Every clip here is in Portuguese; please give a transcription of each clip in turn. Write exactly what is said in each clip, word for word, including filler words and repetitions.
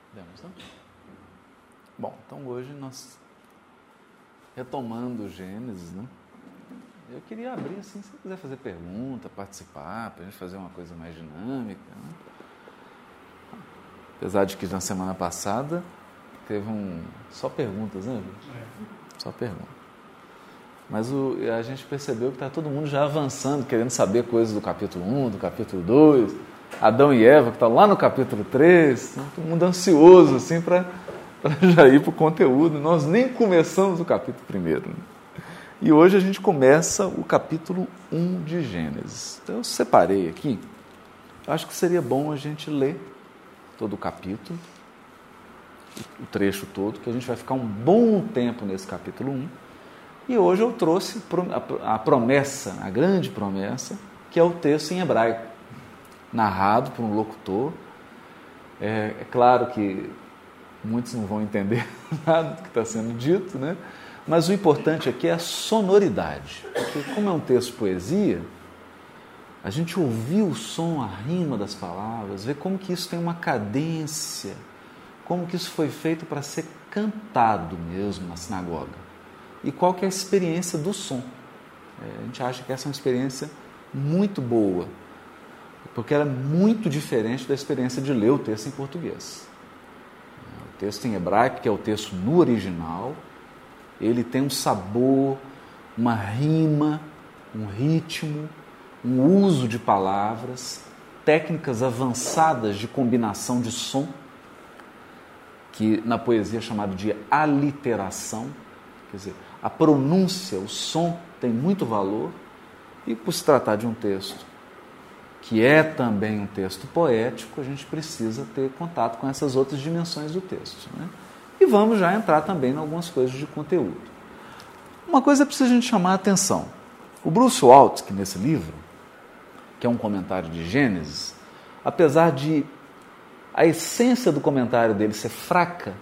Demos, não? Bom, então hoje nós, retomando o Gênesis, né? Eu queria abrir assim, se você quiser fazer pergunta, participar, para a gente fazer uma coisa mais dinâmica, né? Apesar de que na semana passada teve um... só perguntas, né? É. Só perguntas. Mas o, a gente percebeu que está todo mundo já avançando, querendo saber coisas do capítulo um, do capítulo dois, Adão e Eva, que está lá no capítulo três, então, todo mundo ansioso assim, para já ir para o conteúdo. Nós nem começamos o capítulo primeiro. Né? E hoje a gente começa o capítulo um de Gênesis. Então eu separei aqui, acho que seria bom a gente ler todo o capítulo, o trecho todo, que a gente vai ficar um bom tempo nesse capítulo um. E hoje eu trouxe a promessa, a grande promessa, que é o texto em hebraico, narrado por um locutor. É, é claro que muitos não vão entender nada do que está sendo dito, né? Mas o importante aqui é a sonoridade, porque como é um texto de poesia, a gente ouvir o som, a rima das palavras, ver como que isso tem uma cadência, como que isso foi feito para ser cantado mesmo na sinagoga. E qual que é a experiência do som. É, a gente acha que essa é uma experiência muito boa, porque ela é muito diferente da experiência de ler o texto em português. O texto em hebraico, que é o texto no original, ele tem um sabor, uma rima, um ritmo, um uso de palavras, técnicas avançadas de combinação de som, que na poesia é chamado de aliteração. Quer dizer, a pronúncia, o som tem muito valor, e por se tratar de um texto que é também um texto poético, a gente precisa ter contato com essas outras dimensões do texto. Né? E vamos já entrar também em algumas coisas de conteúdo. Uma coisa precisa a gente chamar a atenção. O Bruce Waltke, nesse livro, que é um comentário de Gênesis, apesar de a essência do comentário dele ser fraca,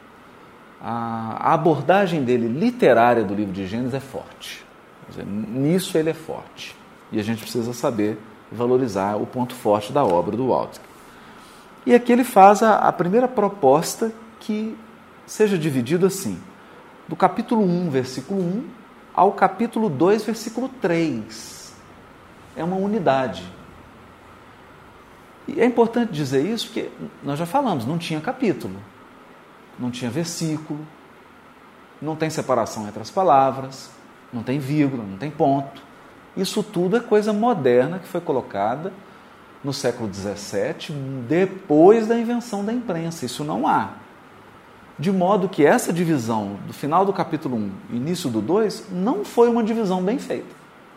a abordagem dele literária do livro de Gênesis é forte. Quer dizer, nisso ele é forte. E a gente precisa saber valorizar o ponto forte da obra do Waltke. E aqui ele faz a, a primeira proposta que seja dividido assim, do capítulo um, versículo um, ao capítulo dois, versículo três. É uma unidade. E é importante dizer isso porque nós já falamos, não tinha capítulo. Não tinha versículo, não tem separação entre as palavras, não tem vírgula, não tem ponto. Isso tudo é coisa moderna que foi colocada no século dezessete, depois da invenção da imprensa. Isso não há. De modo que essa divisão do final do capítulo um e início do dois não foi uma divisão bem feita.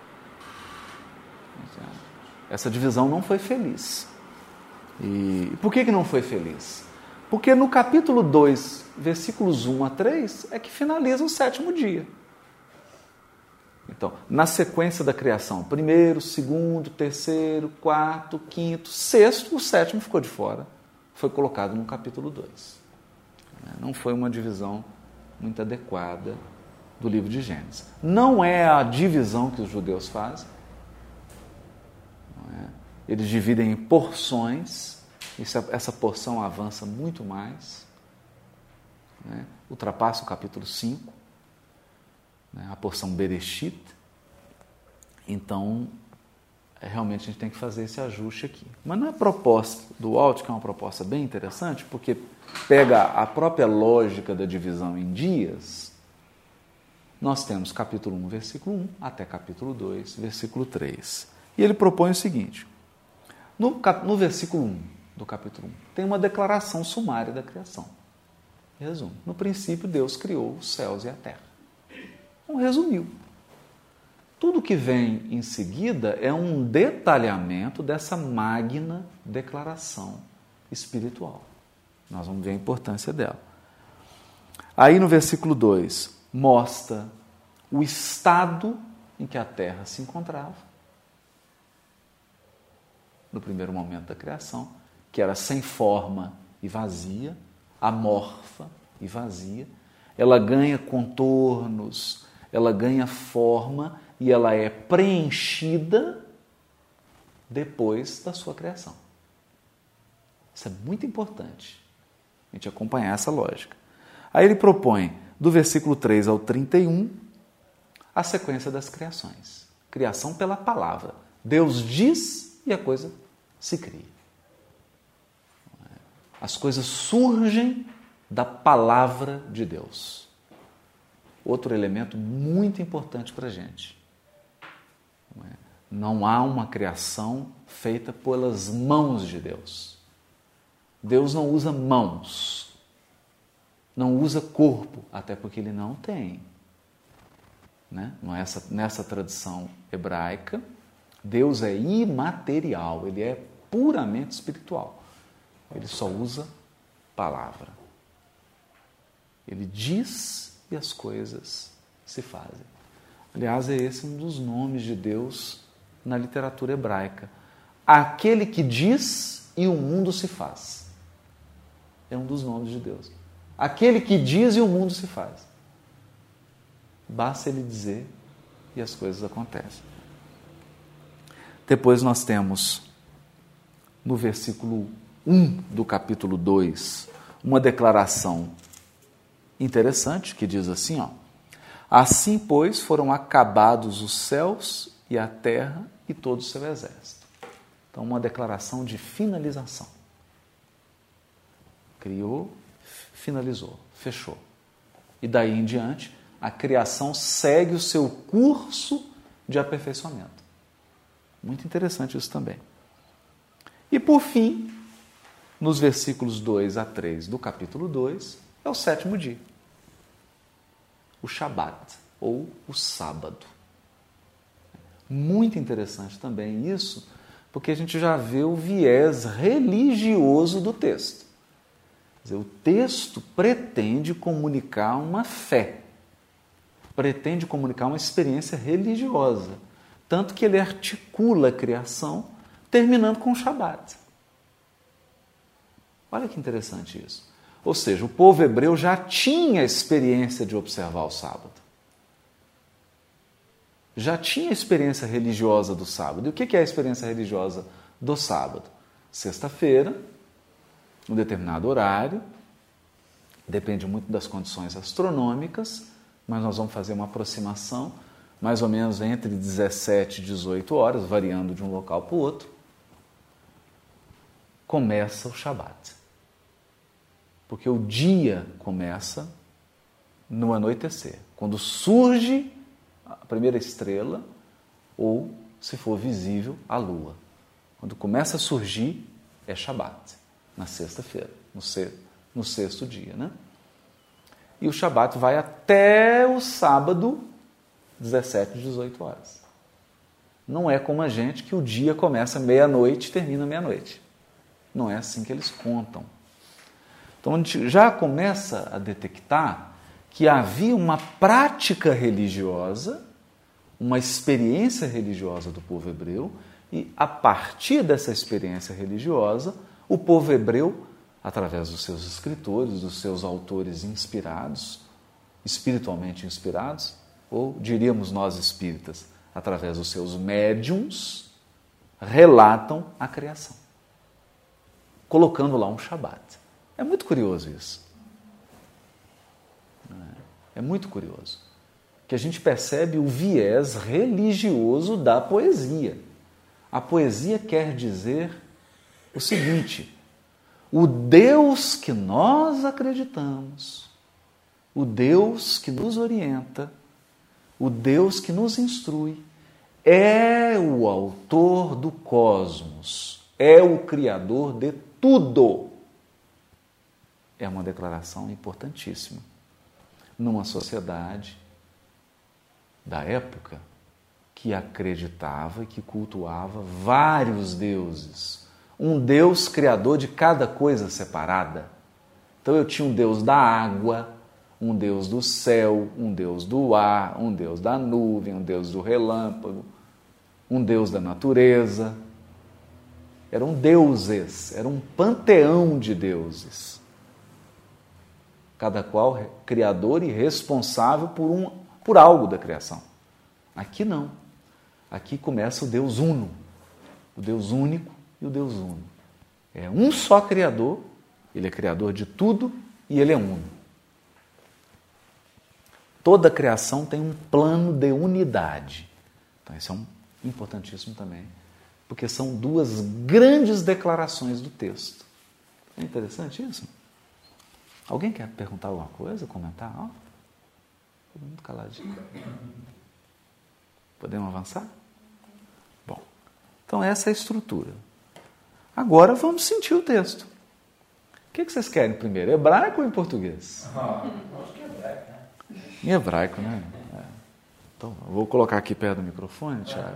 Essa divisão não foi feliz. E por que que não foi feliz? Porque no capítulo dois, versículos um a três, é que finaliza o sétimo dia. Então, na sequência da criação, primeiro, segundo, terceiro, quarto, quinto, sexto, o sétimo ficou de fora. Foi colocado no capítulo dois. Não foi uma divisão muito adequada do livro de Gênesis. Não é a divisão que os judeus fazem. Não é? Eles dividem em porções. Essa porção avança muito mais, né? Ultrapassa o capítulo cinco, né? A porção Bereshit. Então, é, realmente a gente tem que fazer esse ajuste aqui. Mas na proposta do Waltke, que é uma proposta bem interessante, porque pega a própria lógica da divisão em dias, nós temos capítulo um, versículo um, até capítulo dois, versículo três. E ele propõe o seguinte, no, cap, no versículo um, do capítulo um, tem uma declaração sumária da criação. Resumo. No princípio, Deus criou os céus e a terra. Então, resumiu. Tudo que vem em seguida é um detalhamento dessa magna declaração espiritual. Nós vamos ver a importância dela. Aí, no versículo dois, mostra o estado em que a terra se encontrava, no primeiro momento da criação, que era sem forma e vazia, amorfa e vazia. Ela ganha contornos, ela ganha forma e ela é preenchida depois da sua criação. Isso é muito importante. A gente acompanhar essa lógica. Aí ele propõe, do versículo três ao trinta e um, a sequência das criações. Criação pela palavra. Deus diz e a coisa se cria. As coisas surgem da palavra de Deus. Outro elemento muito importante para a gente. Não há uma criação feita pelas mãos de Deus. Deus não usa mãos, não usa corpo, até porque ele não tem. Né? Nessa, nessa tradição hebraica, Deus é imaterial, ele é puramente espiritual. Ele só usa palavra. Ele diz e as coisas se fazem. Aliás, é esse um dos nomes de Deus na literatura hebraica. Aquele que diz e o mundo se faz. É um dos nomes de Deus. Aquele que diz e o mundo se faz. Basta ele dizer e as coisas acontecem. Depois nós temos, no versículo um do capítulo dois, uma declaração interessante que diz assim, ó: assim, pois, foram acabados os céus e a terra e todo o seu exército. Então, uma declaração de finalização. Criou, finalizou, fechou. E daí em diante, a criação segue o seu curso de aperfeiçoamento. Muito interessante isso também. E por fim, nos versículos dois a três do capítulo dois, é o sétimo dia. O Shabat, ou o sábado. Muito interessante também isso, porque a gente já vê o viés religioso do texto. Quer dizer, o texto pretende comunicar uma fé, pretende comunicar uma experiência religiosa, tanto que ele articula a criação, terminando com o Shabat. Olha que interessante isso. Ou seja, o povo hebreu já tinha a experiência de observar o sábado. Já tinha a experiência religiosa do sábado. E o que é a experiência religiosa do sábado? Sexta-feira, um determinado horário, depende muito das condições astronômicas, mas nós vamos fazer uma aproximação mais ou menos entre dezessete e dezoito horas, variando de um local para o outro. Começa o Shabat. Porque o dia começa no anoitecer, quando surge a primeira estrela ou, se for visível, a lua. Quando começa a surgir, é Shabat, na sexta-feira, no, se, no sexto dia. Né? E o Shabat vai até o sábado, dezessete, dezoito horas. Não é como a gente que o dia começa meia-noite e termina meia-noite. Não é assim que eles contam. Então, a gente já começa a detectar que havia uma prática religiosa, uma experiência religiosa do povo hebreu, e a partir dessa experiência religiosa, o povo hebreu, através dos seus escritores, dos seus autores inspirados, espiritualmente inspirados, ou diríamos nós espíritas, através dos seus médiums, relatam a criação, colocando lá um Shabat. É muito curioso isso. É muito curioso. Que a gente percebe o viés religioso da poesia. A poesia quer dizer o seguinte: o Deus que nós acreditamos, o Deus que nos orienta, o Deus que nos instrui, é o autor do cosmos, é o criador de tudo. É uma declaração importantíssima. Numa sociedade da época que acreditava e que cultuava vários deuses. Um Deus criador de cada coisa separada. Então eu tinha um Deus da água, um Deus do céu, um Deus do ar, um Deus da nuvem, um Deus do relâmpago, um Deus da natureza. Eram deuses, era um panteão de deuses. Cada qual criador e responsável por, um, por algo da criação. Aqui não. Aqui começa o Deus uno, o Deus único e o Deus uno. É um só criador Ele é criador de tudo e ele é uno. Toda a criação tem um plano de unidade. Então, isso é um importantíssimo também, porque são duas grandes declarações do texto. É interessante isso? Alguém quer perguntar alguma coisa, comentar? Ó, todo mundo caladinho. Podemos avançar? Bom, então essa é a estrutura. Agora vamos sentir o texto. O que vocês querem primeiro, hebraico ou em português? Ah, acho que é hebraico, né? Em hebraico, né? É. Então, eu vou colocar aqui perto do microfone, Tiago.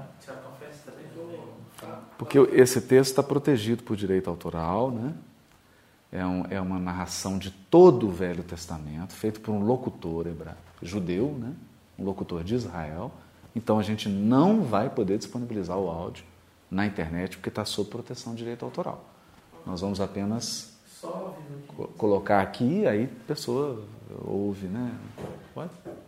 Porque esse texto está protegido por direito autoral, né? É, um, é uma narração de todo o Velho Testamento, feito por um locutor hebraico, judeu, né? Um locutor de Israel. Então, a gente não vai poder disponibilizar o áudio na internet, porque está sob proteção de direito autoral. Nós vamos apenas co- colocar aqui, aí a pessoa ouve, né? Pode?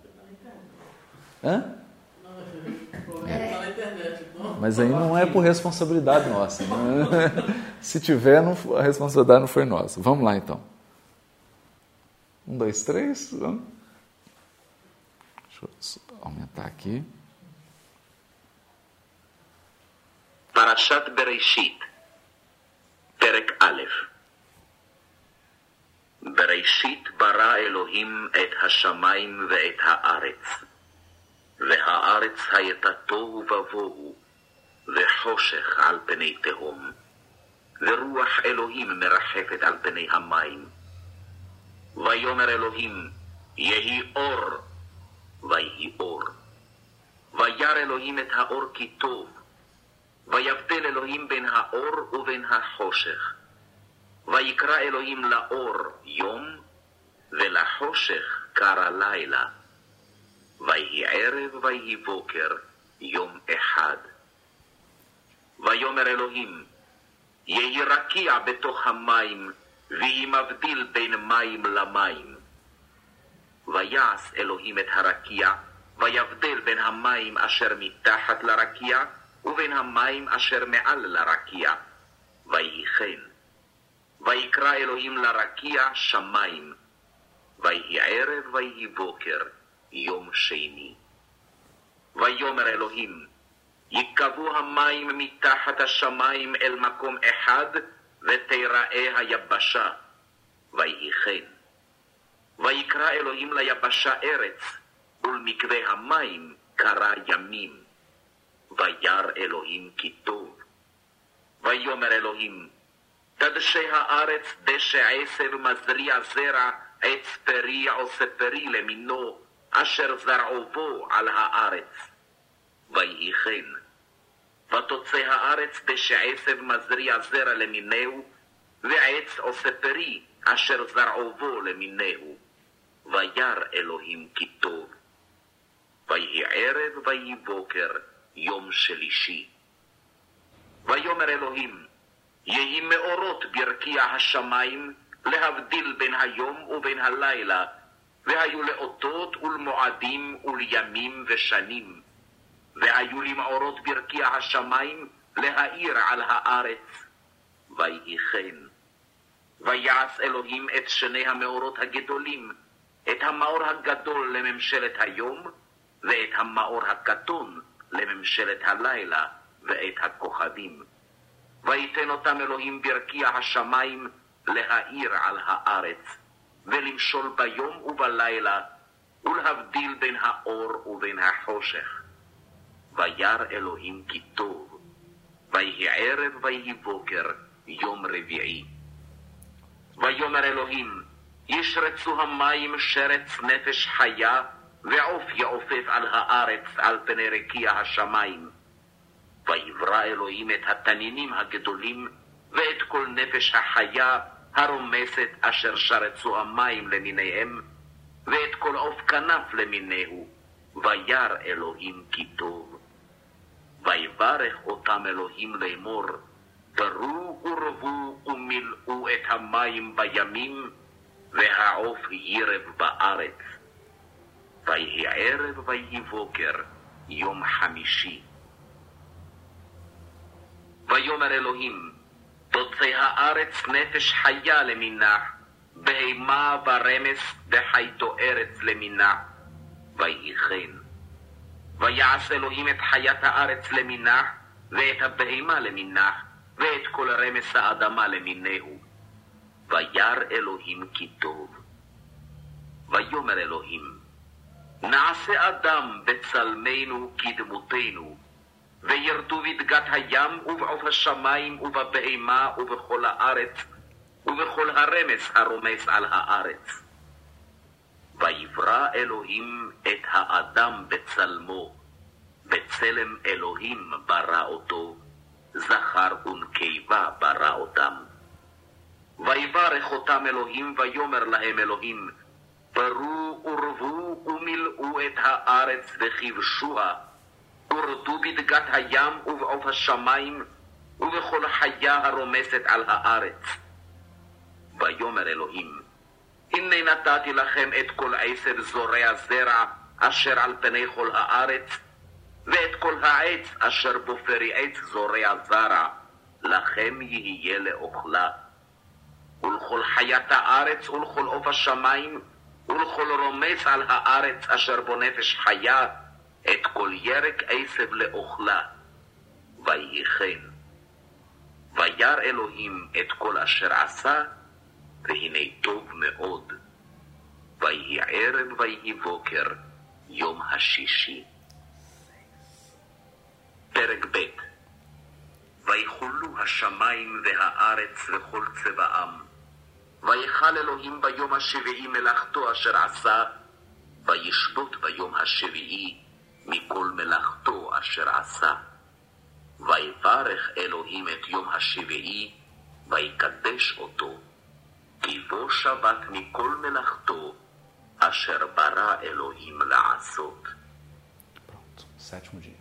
Hã? É. Mas aí não é por responsabilidade nossa. Né? Se tiver, não, a responsabilidade não foi nossa. Vamos lá, então. Um, dois, três. Vamos. Deixa eu aumentar aqui. פרשת בראשית, פרק א'. בראשית ברא אלוהים את השמיים ואת הארץ, והארץ הייתה תוהו ובוהו, וחושך על פני תהום, ורוח אלוהים מרחפת על פני המים. ויאמר אלוהים, יהי אור, ויהי אור. וירא אלוהים את האור כי טוב, ויבדל אלוהים בין האור ובין החושך. ויקרא אלוהים לאור יום, ולחושך קרא לילה. ויהי ערב ויהי בוקר, יום אחד. ויאמר אלוהים, יהי רקיע בתוך המים, ויהי מבדיל בין מים למים. ויעש אלוהים את הרקיע, ויבדל בין המים אשר מתחת לרקיע, ובין המים אשר מעל לרקיע. ויהי כן. ויקרא אלוהים לרקיע שמיים. ויהי ערב ויהי בוקר, יום שני. ויאמר אלוהים, יקבעו המים מתחת השמיים אל מקום אחד, ותיראה היבשה. ויהי כן. ויקרא אלוהים ליבשה ארץ, ולמקווה המים קרא ימים. וירא אלוהים כי טוב. ויאמר אלוהים, תדשא הארץ דשא עשב מזריע זרע, עץ פרי עושה פרי למינו, אשר זרעו בו על הארץ. ויהי כן. ותוצא הארץ דשא עשב מזריע זרע למינהו, ועץ עושה פרי, אשר זרעו בו למינהו. וירא אלוהים כי טוב. ויהי ערב ויהי בוקר, יום שלישי. ויאמר אלוהים, יהי מאורות ברקיע השמיים, להבדיל בין היום ובין הלילה, והיו לאותות ולמועדים ולימים ושנים. והיו למאורות ברקיע השמיים, להאיר על הארץ. ויהי כן. ויעש אלוהים את שני המאורות הגדולים, את המאור הגדול לממשלת היום, ואת המאור הקטון לממשלת הלילה, ואת הכוכבים. ויתן אותם אלוהים ברקיע השמיים להאיר על הארץ, ולמשול ביום ובלילה, ולהבדיל בין האור ובין החושך. וירא אלוהים כי טוב. ויהי ערב ויהי בוקר, יום רביעי. ויאמר אלוהים, ישרצו המים שרץ נפש חיה, ועוף יעופף על הארץ על פני רקיע השמיים. ויברא אלוהים את התנינים הגדולים, ואת כל נפש החיה הרומסת אשר שרצו המים למיניהם, ואת כל עוף כנף למיניהו. וירא אלוהים כי טוב. ויברך אותם אלוהים לאמור, פרו ורבו ומילאו את המים בימים, והעוף ירב בארץ. ויהי ערב ויהי בוקר, יום חמישי. ויאמר אלוהים, תוצא הארץ נפש חיה למינה, בהמה ורמס וחי תוארץ למינה, ויהי כן. ויעש אלוהים את חיית הארץ למינה, ואת הבהמה למינה, ואת כל רמס האדמה למינהו. וירא אלוהים כי טוב. ויאמר אלוהים, נעשה אדם בצלמנו כדמותנו, וירדו בדגת הים ובעוף השמיים ובבהמה ובכל הארץ ובכל הרמס הרומס על הארץ. ויברא אלוהים את האדם בצלמו, בצלם אלוהים ברא אותו, זכר ונקבה ברא אותם. ויברך אותם אלוהים ויאמר להם אלוהים, פרו ורבו ומילאו את הארץ וכבשוה, ורדו בדגת הים ובעוף השמיים ובכל חיה הרומסת על הארץ. ויאמר אלוהים, הנה נתתי לכם את כל עשב זורע זרע אשר על פני כל הארץ, ואת כל העץ אשר בו פרי עץ זורע זרע, לכם יהיה לאוכלה. ולכל חיית הארץ ולכל עוף השמיים ולכל רומס על הארץ אשר בו נפש חיה, את כל ירק עשב לאוכלה. ויהי כן. וירא אלוהים את כל אשר עשה, והנה טוב מאוד. ויהי ערב ויהי בוקר, יום השישי. פרק ב'. ויחולו השמיים והארץ וכל צבאם. ויחל אלוהים ביום השביעי מלאכתו אשר עשה, וישבות ביום השביעי מכל מלאכתו אשר עשה. ויברך אלוהים את יום השביעי, ויקדש אותו, כי בו שבת מכל מלאכתו אשר ברא אלוהים לעשות. Pronto, sétimo dia.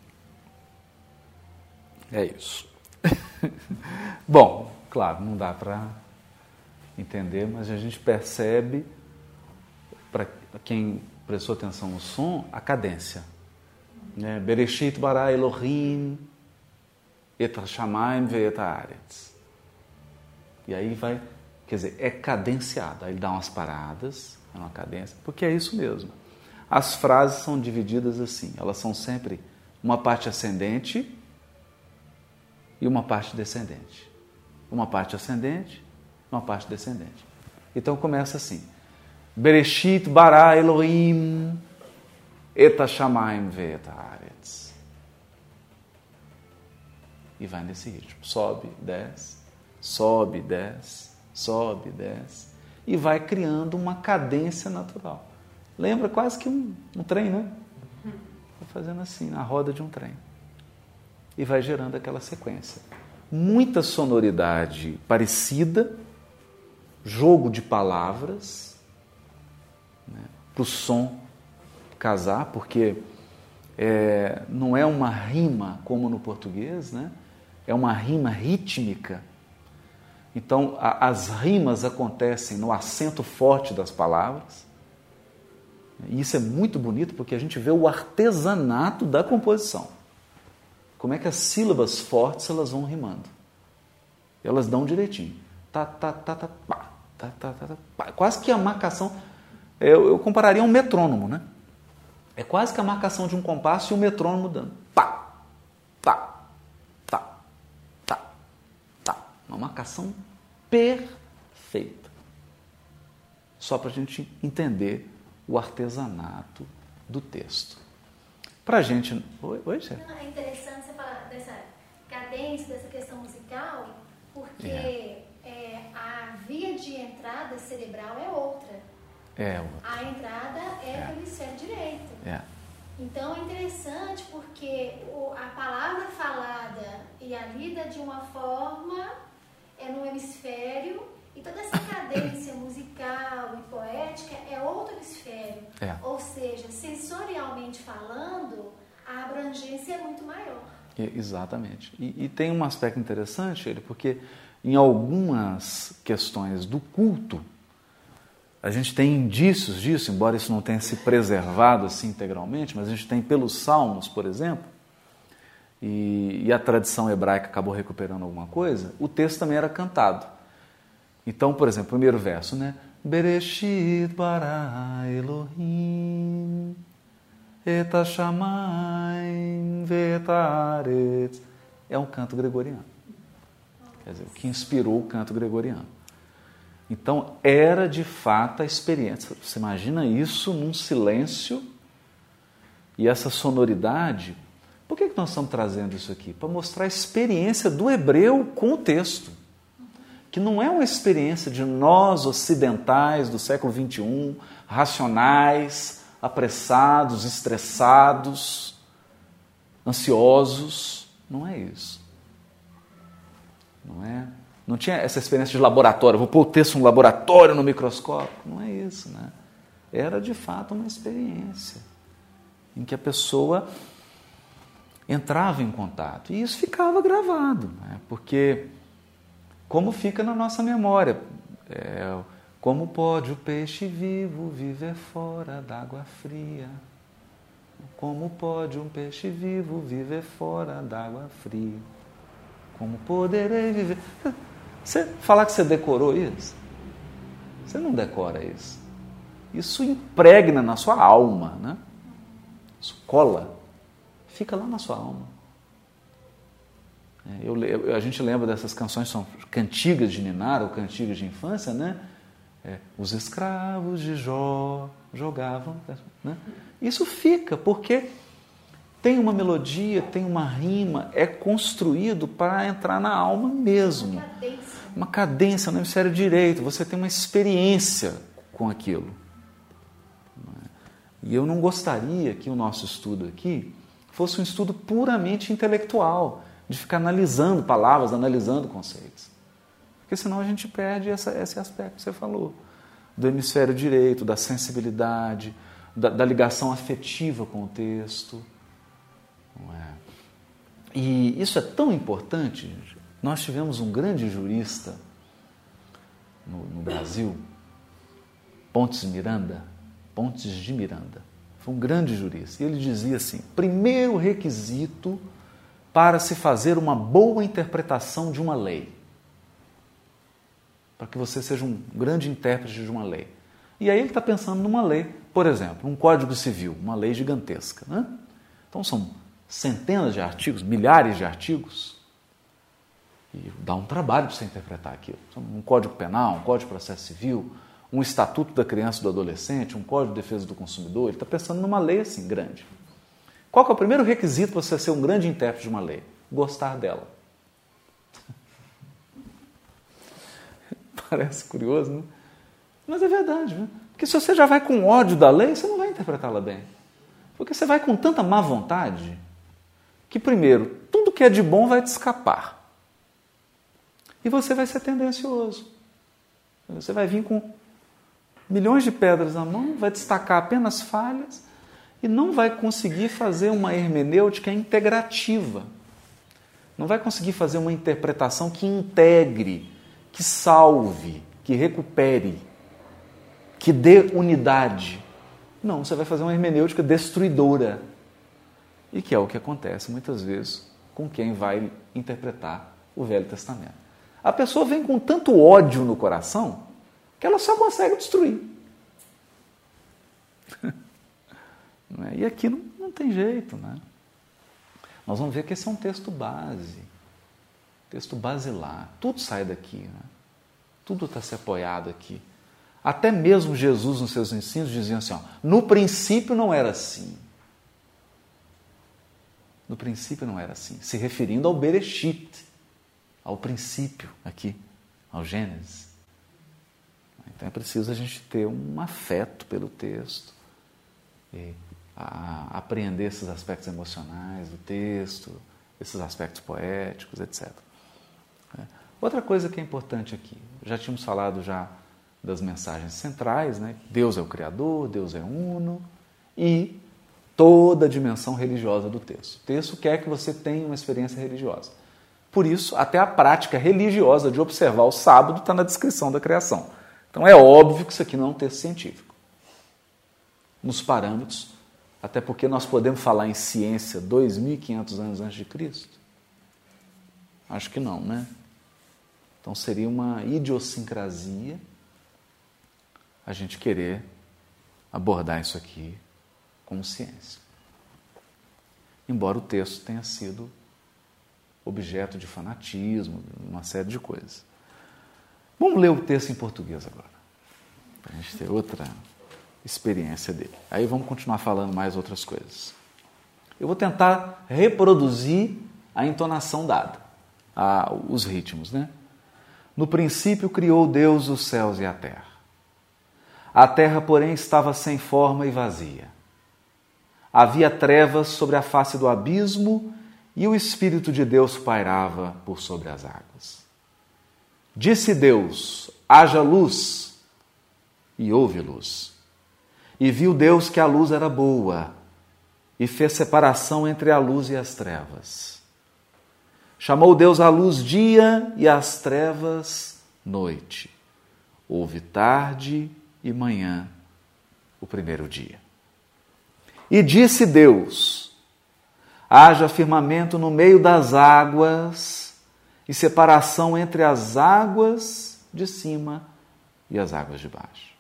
É isso. Bom, claro, não dá para entender, mas a gente percebe, para quem prestou atenção no som, a cadência. Né? Bereshit bara Elohim et hashamayim ve'et haaretz. E aí vai, quer dizer, é cadenciado. Aí ele dá umas paradas, é uma cadência, porque é isso mesmo. As frases são divididas assim, elas são sempre uma parte ascendente e uma parte descendente. Uma parte ascendente, uma parte descendente. Então começa assim: Bereshit bara Elohim et hashamayim ve'et haaretz. E vai nesse ritmo. Sobe, desce, sobe, desce, sobe, desce. E vai criando uma cadência natural. Lembra quase que um, um trem, né? Vai fazendo assim, na roda de um trem. E vai gerando aquela sequência. Muita sonoridade parecida, jogo de palavras, né, para o som casar, porque é, não é uma rima como no português, né? É uma rima rítmica. Então, a, as rimas acontecem no acento forte das palavras. E isso é muito bonito porque a gente vê o artesanato da composição. Como é que as sílabas fortes elas vão rimando. Elas dão direitinho. Tá, tá, tá, tá, pá, tá, tá, tá, tá, pá. Quase que a marcação... Eu, eu compararia a um metrônomo, né? É quase que a marcação de um compasso e o metrônomo dando. Pá, tá, tá, tá, tá. Uma marcação perfeita. Só para a gente entender o artesanato do texto. Para a gente... Oi, oi, Cê? Não, é interessante você falar dessa cadência, dessa questão musical, porque É. É, a via de entrada cerebral é outra. É outra. A entrada é, É. pelo hemisfério direito. É. Então é interessante porque o, a palavra falada e a lida de uma forma é no hemisfério, e toda essa cadência musical e poética é outro hemisfério. É. Ou seja, sensorialmente falando, a abrangência é muito maior. E- Exatamente. E, e tem um aspecto interessante, ele, porque em algumas questões do culto, a gente tem indícios disso, embora isso não tenha se preservado assim integralmente, mas a gente tem pelos salmos, por exemplo, e, e a tradição hebraica acabou recuperando alguma coisa, o texto também era cantado. Então, por exemplo, o primeiro verso, né? Bereshit bara Elohim et hashamayim ve'et haaretz. É um canto gregoriano. Quer dizer, o que inspirou o canto gregoriano. Então, era de fato a experiência. Você imagina isso num silêncio e essa sonoridade. Por que que nós estamos trazendo isso aqui? Para mostrar a experiência do hebreu com o texto. Que não é uma experiência de nós ocidentais do século vinte e um, racionais, apressados, estressados, ansiosos. Não é isso. Não é? Não tinha essa experiência de laboratório, vou pôr o texto no laboratório, no microscópio. Não é isso, né? Era de fato uma experiência em que a pessoa entrava em contato. E isso ficava gravado, né? Porque como fica na nossa memória, é, como pode o peixe vivo viver fora d'água fria? Como pode um peixe vivo viver fora d'água fria? Como poderei viver? Você falar que você decorou isso? Você não decora isso. Isso impregna na sua alma, né? Isso cola, fica lá na sua alma. Eu, eu, a gente lembra dessas canções, são cantigas de ninar ou cantigas de infância, né? É, os escravos de Jó jogavam, né? Isso fica, porque tem uma melodia, tem uma rima, é construído para entrar na alma mesmo. Uma cadência. Uma cadência no hemisfério direito, você tem uma experiência com aquilo. E eu não gostaria que o nosso estudo aqui fosse um estudo puramente intelectual, de ficar analisando palavras, analisando conceitos. Porque senão a gente perde essa, esse aspecto que você falou, do hemisfério direito, da sensibilidade, da, da ligação afetiva com o texto. Não é? E isso é tão importante. Nós tivemos um grande jurista no, no Brasil, Pontes Miranda, Pontes de Miranda. Foi um grande jurista. E ele dizia assim, primeiro requisito para se fazer uma boa interpretação de uma lei. Para que você seja um grande intérprete de uma lei. E aí ele está pensando numa lei, por exemplo, um Código Civil, uma lei gigantesca, né? Então são centenas de artigos, milhares de artigos, e dá um trabalho para você interpretar aquilo. Um Código Penal, um Código de Processo Civil, um Estatuto da Criança e do Adolescente, um Código de Defesa do Consumidor. Ele está pensando numa lei assim, grande. Qual que é o primeiro requisito para você ser um grande intérprete de uma lei? Gostar dela. Parece curioso, né? Mas é verdade, né? Porque se você já vai com ódio da lei, você não vai interpretá-la bem. Porque você vai com tanta má vontade que, primeiro, tudo que é de bom vai te escapar. E você vai ser tendencioso. Você vai vir com milhões de pedras na mão, vai destacar apenas falhas e não vai conseguir fazer uma hermenêutica integrativa. Não vai conseguir fazer uma interpretação que integre, que salve, que recupere, que dê unidade. Não, você vai fazer uma hermenêutica destruidora. E que é o que acontece muitas vezes com quem vai interpretar o Velho Testamento. A pessoa vem com tanto ódio no coração que ela só consegue destruir. E aqui não, não tem jeito, né? Nós vamos ver que esse é um texto base, texto basilar. Tudo sai daqui, né? Tudo está se apoiado aqui. Até mesmo Jesus, nos seus ensinos, dizia assim, ó, no princípio não era assim. No princípio não era assim. Se referindo ao Bereshit, ao princípio aqui, ao Gênesis. Então é preciso a gente ter um afeto pelo texto, e a apreender esses aspectos emocionais do texto, esses aspectos poéticos, etcétera. Outra coisa que é importante aqui, já tínhamos falado já das mensagens centrais, né? Deus é o Criador, Deus é uno, e toda a dimensão religiosa do texto. O texto quer que você tenha uma experiência religiosa. Por isso, até a prática religiosa de observar o sábado está na descrição da criação. Então é óbvio que isso aqui não é um texto científico. Nos parâmetros, Até porque nós podemos falar em ciência dois mil e quinhentos anos antes de Cristo? Acho que não, né? Então seria uma idiosincrasia a gente querer abordar isso aqui como ciência. Embora o texto tenha sido objeto de fanatismo, uma série de coisas. Vamos ler o texto em português agora, para a gente ter outra experiência dele. Aí vamos continuar falando mais outras coisas. Eu vou tentar reproduzir a entonação dada, a, os ritmos, né? No princípio criou Deus os céus e a terra. A terra, porém, estava sem forma e vazia. Havia trevas sobre a face do abismo e o Espírito de Deus pairava por sobre as águas. Disse Deus: haja luz, e houve luz. E viu Deus que a luz era boa, e fez separação entre a luz e as trevas. Chamou Deus a luz dia e as trevas noite. Houve tarde e manhã, o primeiro dia. E disse Deus: haja firmamento no meio das águas e separação entre as águas de cima e as águas de baixo.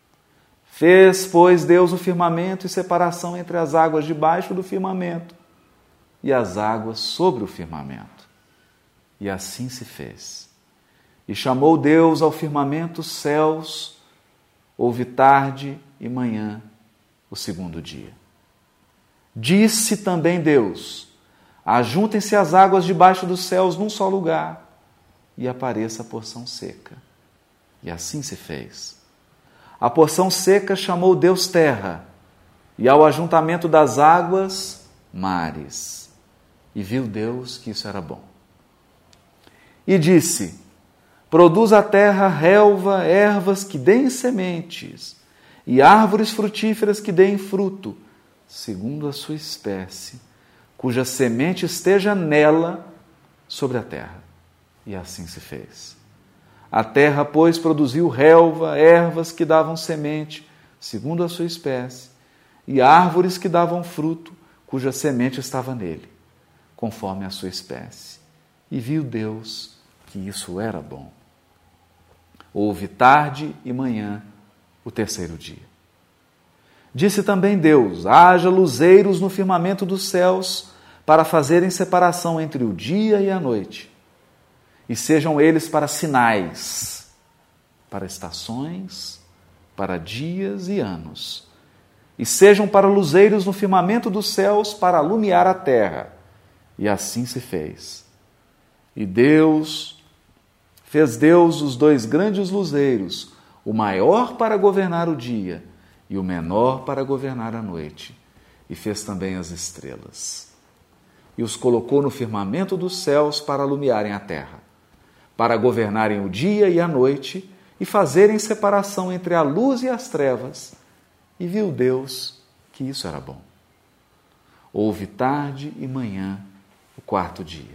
Fez, pois, Deus o firmamento e separação entre as águas de baixo do firmamento e as águas sobre o firmamento. E assim se fez. E chamou Deus ao firmamento céus. Houve tarde e manhã, o segundo dia. Disse também Deus: ajuntem-se as águas debaixo dos céus num só lugar, e apareça a porção seca. E assim se fez. A porção seca chamou Deus terra, e ao ajuntamento das águas, mares. E viu Deus que isso era bom. E disse: produz a terra relva, ervas que deem sementes, e árvores frutíferas que deem fruto, segundo a sua espécie, cuja semente esteja nela sobre a terra. E assim se fez. A terra, pois, produziu relva, ervas que davam semente, segundo a sua espécie, e árvores que davam fruto, cuja semente estava nele, conforme a sua espécie. E viu Deus que isso era bom. Houve tarde e manhã, o terceiro dia. Disse também Deus: haja luzeiros no firmamento dos céus, para fazerem separação entre o dia e a noite, e sejam eles para sinais, para estações, para dias e anos, e sejam para luzeiros no firmamento dos céus, para alumiar a terra. E assim se fez. E Deus, fez Deus os dois grandes luzeiros, o maior para governar o dia e o menor para governar a noite, e fez também as estrelas. E os colocou no firmamento dos céus para alumiarem a terra, para governarem o dia e a noite, e fazerem separação entre a luz e as trevas. E viu Deus que isso era bom. Houve tarde e manhã, o quarto dia.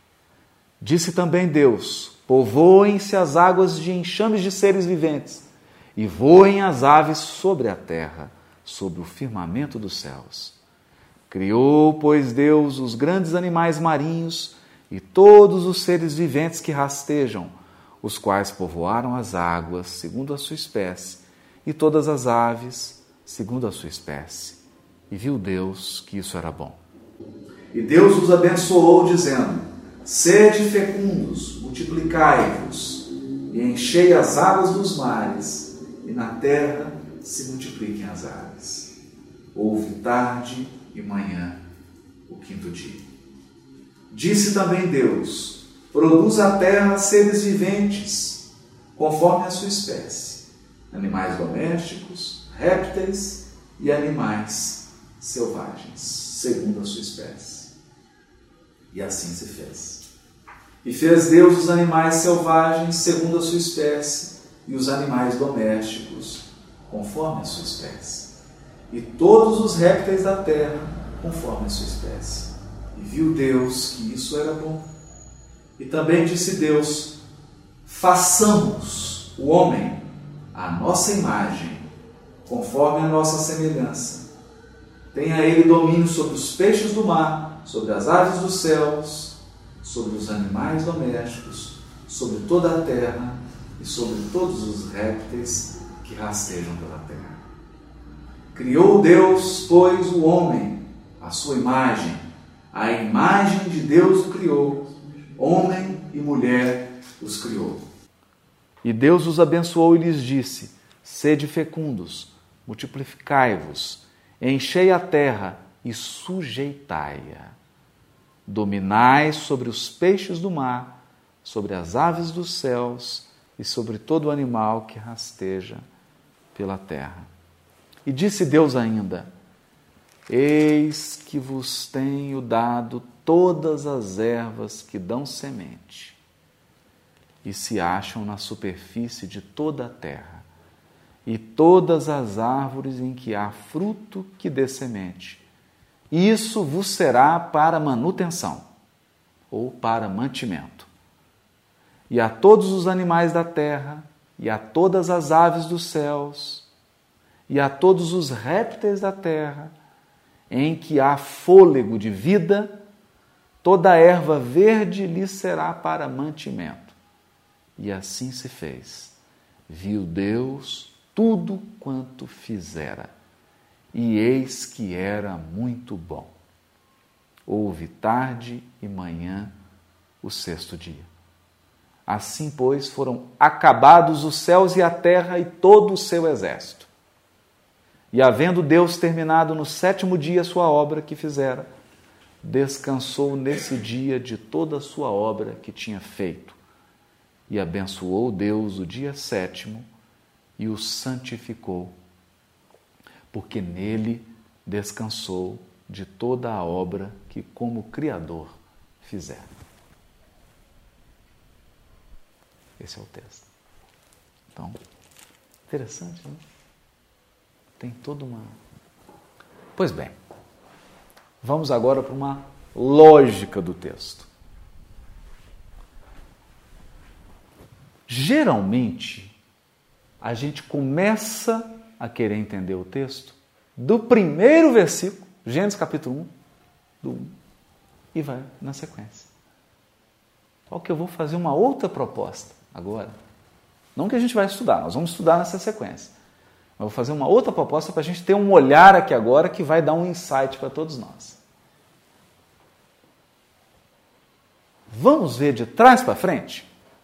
Disse também Deus: povoem-se as águas de enxames de seres viventes, e voem as aves sobre a terra, sobre o firmamento dos céus. Criou, pois, Deus os grandes animais marinhos e todos os seres viventes que rastejam, os quais povoaram as águas, segundo a sua espécie, e todas as aves, segundo a sua espécie. E viu Deus que isso era bom. E Deus os abençoou, dizendo: sede fecundos, multiplicai-vos, e enchei as águas dos mares, e na terra se multipliquem as aves. Houve tarde e manhã, o quinto dia. Disse também Deus: produz a terra seres viventes, conforme a sua espécie, animais domésticos, répteis e animais selvagens, segundo a sua espécie. E assim se fez. E fez Deus os animais selvagens, segundo a sua espécie, e os animais domésticos, conforme a sua espécie, e todos os répteis da terra, conforme a sua espécie. E viu Deus que isso era bom. E também disse Deus: façamos o homem à nossa imagem, conforme a nossa semelhança, Tenha ele domínio sobre os peixes do mar, sobre as aves dos céus, sobre os animais domésticos, sobre toda a terra e sobre todos os répteis que rastejam pela terra. Criou Deus, pois, o homem, à sua imagem. A imagem de Deus o criou, homem e mulher os criou. E Deus os abençoou e lhes disse: sede fecundos, multiplicai-vos, enchei a terra e sujeitai-a. Dominai sobre os peixes do mar, sobre as aves dos céus e sobre todo animal que rasteja pela terra. E disse Deus ainda: eis que vos tenho dado todas as ervas que dão semente e se acham na superfície de toda a terra, e todas as árvores em que há fruto que dê semente. Isso vos será para manutenção, ou para mantimento. E a todos os animais da terra, e a todas as aves dos céus, e a todos os répteis da terra, em que há fôlego de vida, toda a erva verde lhes será para mantimento. E assim se fez. Viu Deus tudo quanto fizera, e eis que era muito bom. Houve tarde e manhã o sexto dia. Assim, pois, foram acabados os céus e a terra e todo o seu exército. E havendo Deus terminado no sétimo dia a sua obra que fizera, descansou nesse dia de toda a sua obra que tinha feito. E abençoou Deus o dia sétimo e o santificou, porque nele descansou de toda a obra que como Criador fizera. Esse é o texto. Então, interessante, né? Tem toda uma... Pois bem, vamos agora para uma lógica do texto. Geralmente, a gente começa a querer entender o texto do primeiro versículo, Gênesis capítulo um, do um, e vai na sequência. Só que eu vou fazer uma outra proposta agora. Não que a gente vai estudar, nós vamos estudar nessa sequência. Mas vou fazer uma outra proposta para a gente ter um olhar aqui agora que vai dar um insight para todos nós. Vamos ver de trás para frente?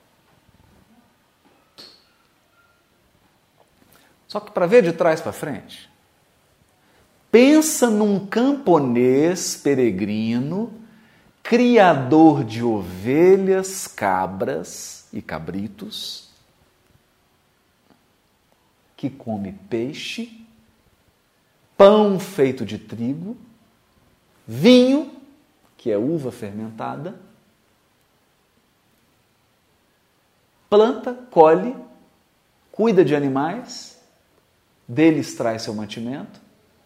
Só que para ver de trás para frente, pensa num camponês peregrino, criador de ovelhas, cabras e cabritos, que come peixe, pão feito de trigo, vinho, que é uva fermentada, planta, colhe, cuida de animais, deles traz seu mantimento,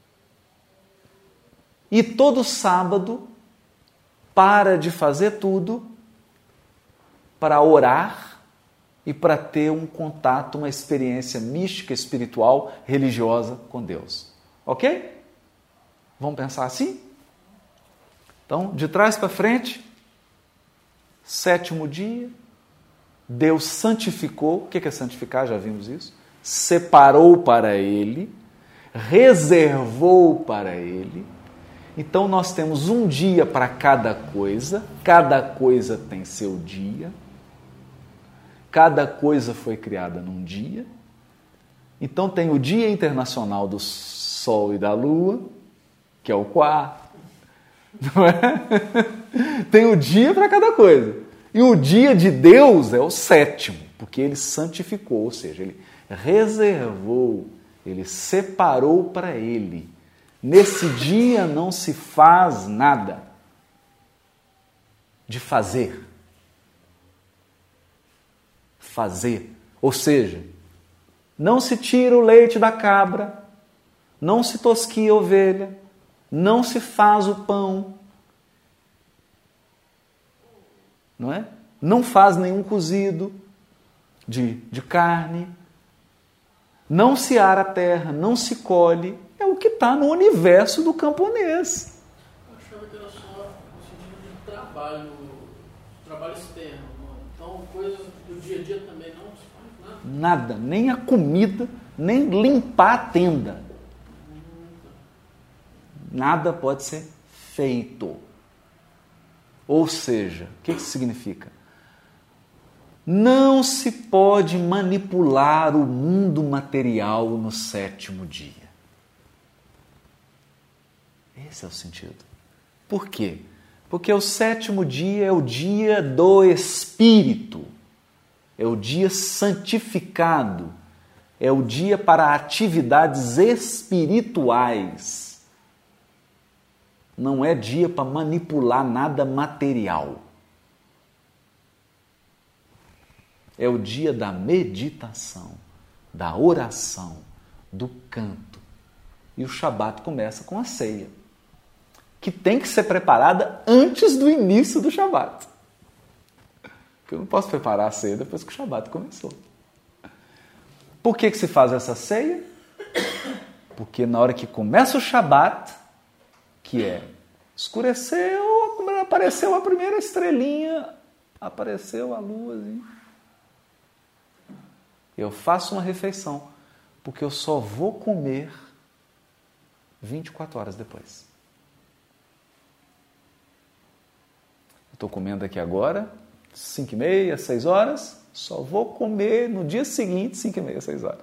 e todo sábado para de fazer tudo para orar e para ter um contato, uma experiência mística, espiritual, religiosa com Deus. Ok? Vamos pensar assim? Então, de trás para frente, sétimo dia, Deus santificou. O que é santificar? Já vimos isso. Separou para Ele, reservou para Ele. Então, nós temos um dia para cada coisa, cada coisa tem seu dia, cada coisa foi criada num dia. Então, tem o Dia Internacional do Sol e da Lua, que é o quarto, não é? Tem o dia para cada coisa. E o dia de Deus é o sétimo, porque Ele santificou, ou seja, Ele reservou, Ele separou para Ele. Nesse dia não se faz nada de fazer. Fazer. Ou seja, não se tira o leite da cabra, não se tosquia a ovelha, não se faz o pão, não é? Não faz nenhum cozido de, de carne, não se ara a terra, não se colhe. É o que está no universo do camponês. Eu achava que era só no sentido de trabalho, trabalho externo. Então, coisas do dia a dia também não se faz nada. Nada, nem a comida, nem limpar a tenda. Nada pode ser feito. Ou seja, o que isso significa? Não se pode manipular o mundo material no sétimo dia. Esse é o sentido. Por quê? Porque o sétimo dia é o dia do Espírito. É o dia santificado. É o dia para atividades espirituais. Não é dia para manipular nada material. É o dia da meditação, da oração, do canto. E o Shabat começa com a ceia, que tem que ser preparada antes do início do Shabat. Porque eu não posso preparar a ceia depois que o Shabat começou. Por que que se faz essa ceia? Porque na hora que começa o Shabat, que é, escureceu, apareceu a primeira estrelinha, apareceu a luazinha. Eu faço uma refeição, porque eu só vou comer vinte e quatro horas depois. Estou comendo aqui agora, cinco e meia, seis horas, só vou comer no dia seguinte, cinco e meia, seis horas.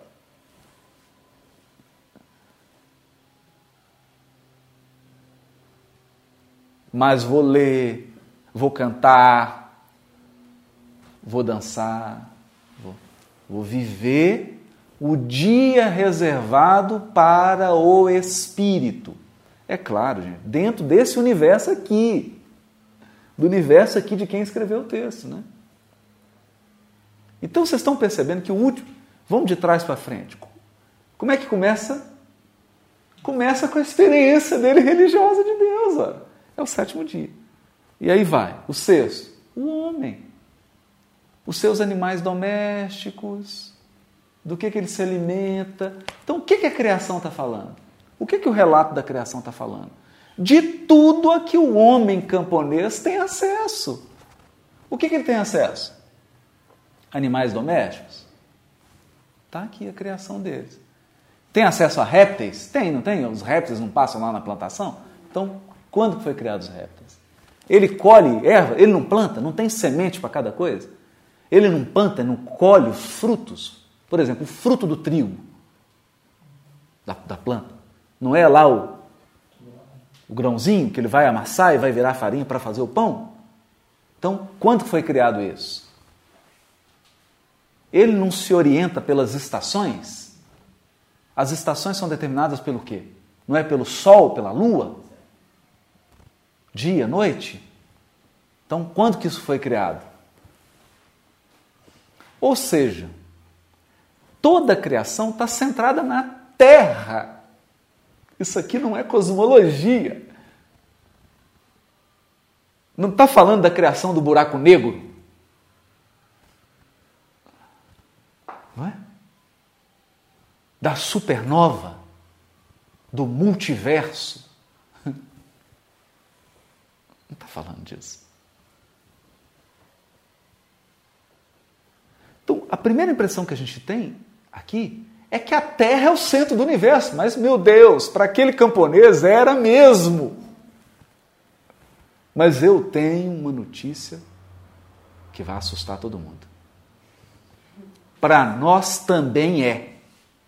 Mas vou ler, vou cantar, vou dançar, vou, vou viver o dia reservado para o Espírito. É claro, gente, dentro desse universo aqui, do universo aqui de quem escreveu o texto, né? Então vocês estão percebendo que o último, vamos de trás para frente. Como é que começa? Começa com a experiência dele religiosa de Deus, ó. É o sétimo dia. E aí vai. O sexto, o homem. Os seus animais domésticos. Do que, que ele se alimenta. Então, o que, que a criação está falando? O que, que o relato da criação está falando? De tudo a que o homem camponês tem acesso. O que, que ele tem acesso? Animais domésticos? Está aqui a criação deles. Tem acesso a répteis? Tem, não tem? Os répteis não passam lá na plantação? Então, quando foi criado os répteis? Ele colhe erva, ele não planta, não tem semente para cada coisa? Ele não planta, não colhe os frutos? Por exemplo, o fruto do trigo da, da planta. Não é lá o, o grãozinho que ele vai amassar e vai virar farinha para fazer o pão? Então, quando foi criado isso? Ele não se orienta pelas estações? As estações são determinadas pelo quê? Não é pelo sol, pela lua? Dia, noite? Então, quando que isso foi criado? Ou seja, toda a criação está centrada na Terra. Isso aqui não é cosmologia. Não está falando da criação do buraco negro. Não é? Da supernova, do multiverso. Não está falando disso. Então, a primeira impressão que a gente tem aqui é que a Terra é o centro do universo. Mas, meu Deus, para aquele camponês era mesmo. Mas eu tenho uma notícia que vai assustar todo mundo. Para nós também é.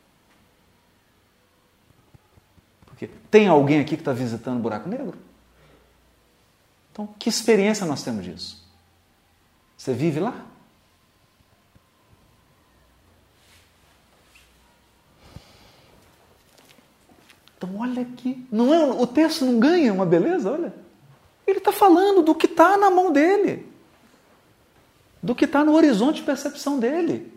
Porque tem alguém aqui que está visitando o buraco negro? Então, que experiência nós temos disso? Você vive lá? Então, olha aqui. Não é, o texto não ganha uma beleza, olha. Ele está falando do que está na mão dele. Do que está no horizonte de percepção dele.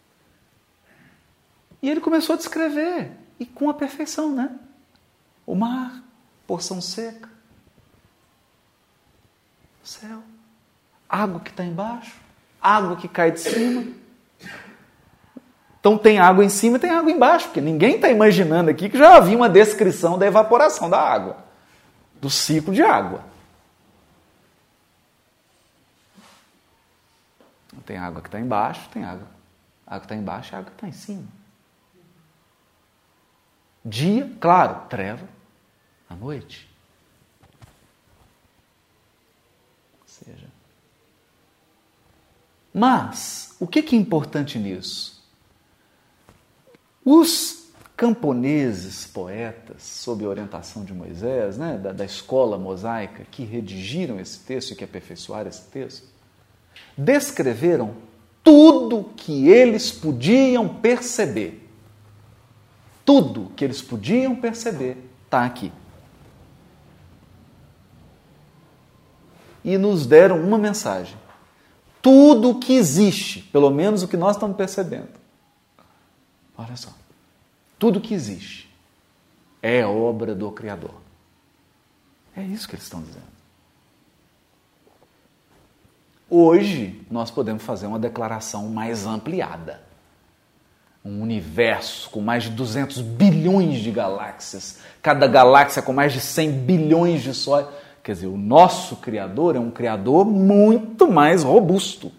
E ele começou a descrever. E com a perfeição, né? O mar, porção seca. O céu. Água que está embaixo. Água que cai de cima. Então tem água em cima e tem água embaixo, porque ninguém está imaginando aqui que já havia uma descrição da evaporação da água, do ciclo de água. Tem água que está embaixo, tem água. A água que está embaixo e a água que está em cima. Dia, claro, treva, à noite. Ou seja, mas, o que é importante nisso? Os camponeses, poetas, sob a orientação de Moisés, né, da, da escola mosaica, que redigiram esse texto e que aperfeiçoaram esse texto, descreveram tudo que eles podiam perceber. Tudo que eles podiam perceber está aqui. E nos deram uma mensagem. Tudo o que existe, pelo menos o que nós estamos percebendo. Olha só. Tudo que existe é obra do Criador. É isso que eles estão dizendo. Hoje, nós podemos fazer uma declaração mais ampliada. Um universo com mais de duzentos bilhões de galáxias, cada galáxia com mais de cem bilhões de sóis. Quer dizer, o nosso Criador é um Criador muito mais robusto.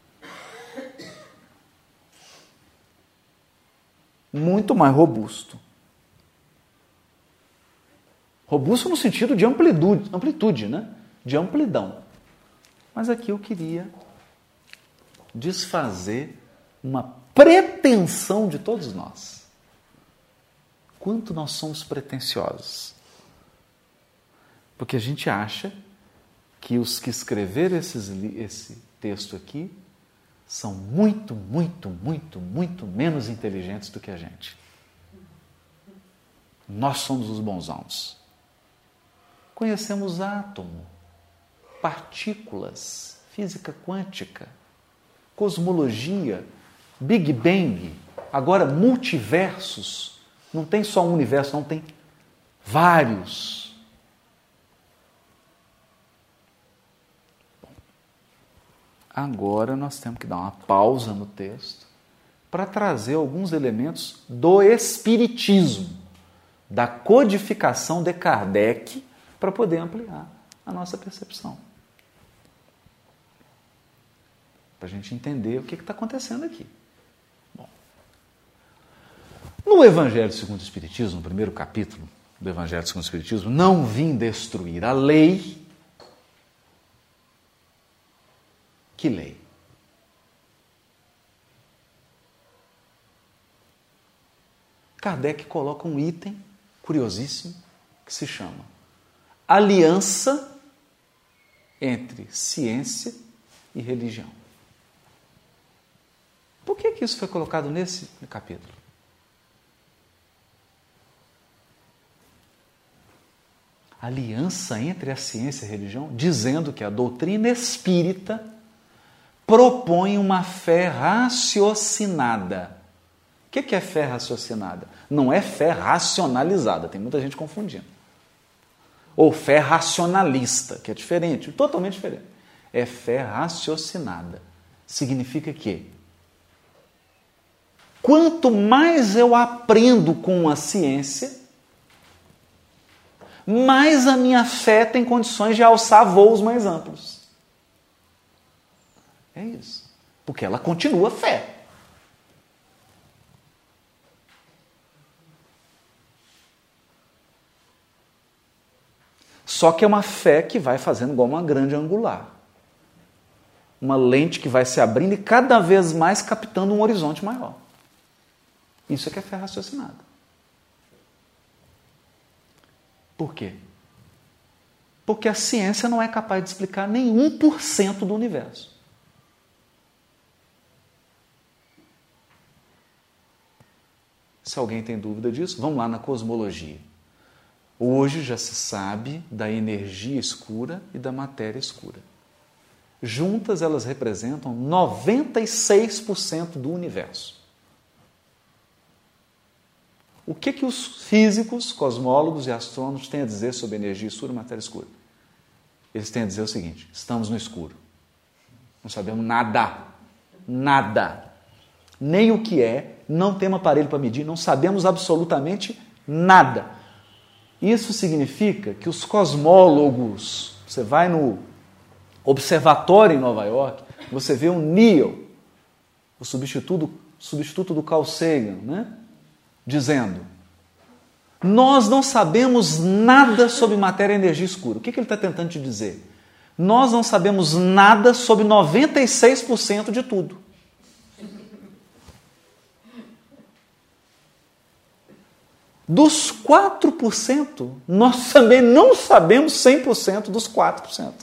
Muito mais robusto. Robusto no sentido de amplitude, amplitude, né? De amplidão. Mas aqui eu queria desfazer uma pretensão de todos nós. Quanto nós somos pretensiosos. Porque a gente acha que os que escreveram esses, esse texto aqui são muito, muito, muito, muito menos inteligentes do que a gente. Nós somos os bonzãos. Conhecemos átomo, partículas, física quântica, cosmologia, Big Bang, agora multiversos. Não tem só um universo, não, tem vários. Bom, agora nós temos que dar uma pausa no texto para trazer alguns elementos do espiritismo, da codificação de Kardec, para poder ampliar a nossa percepção. Para a gente entender o que está acontecendo aqui. Bom, no Evangelho segundo o Espiritismo, no primeiro capítulo do Evangelho segundo o Espiritismo, não vim destruir a lei. Que lei? Kardec coloca um item curiosíssimo que se chama aliança entre ciência e religião. Por que que isso foi colocado nesse capítulo? Aliança entre a ciência e a religião, dizendo que a doutrina espírita propõe uma fé raciocinada. O que que é fé raciocinada? Não é fé racionalizada, tem muita gente confundindo. Ou fé racionalista, que é diferente, totalmente diferente. É fé raciocinada. Significa que quanto mais eu aprendo com a ciência, mais a minha fé tem condições de alçar voos mais amplos. É isso. Porque ela continua fé. Só que é uma fé que vai fazendo igual uma grande angular. Uma lente que vai se abrindo e cada vez mais captando um horizonte maior. Isso é que é fé raciocinada. Por quê? Porque a ciência não é capaz de explicar nem um por cento do universo. Se alguém tem dúvida disso, vamos lá na cosmologia. Hoje já se sabe da energia escura e da matéria escura. Juntas elas representam noventa e seis por cento do universo. O que que os físicos, cosmólogos e astrônomos têm a dizer sobre energia escura e matéria escura? Eles têm a dizer o seguinte: estamos no escuro. Não sabemos nada. Nada. Nem o que é, não temos aparelho para medir, não sabemos absolutamente nada. Isso significa que os cosmólogos, você vai no observatório em Nova York, você vê o Neil, o substituto, substituto do Carl Sagan, né? Dizendo: nós não sabemos nada sobre matéria e energia escura. O que, que ele está tentando te dizer? Nós não sabemos nada sobre noventa e seis por cento de tudo. Dos quatro por cento, nós também não sabemos cem por cento dos quatro por cento.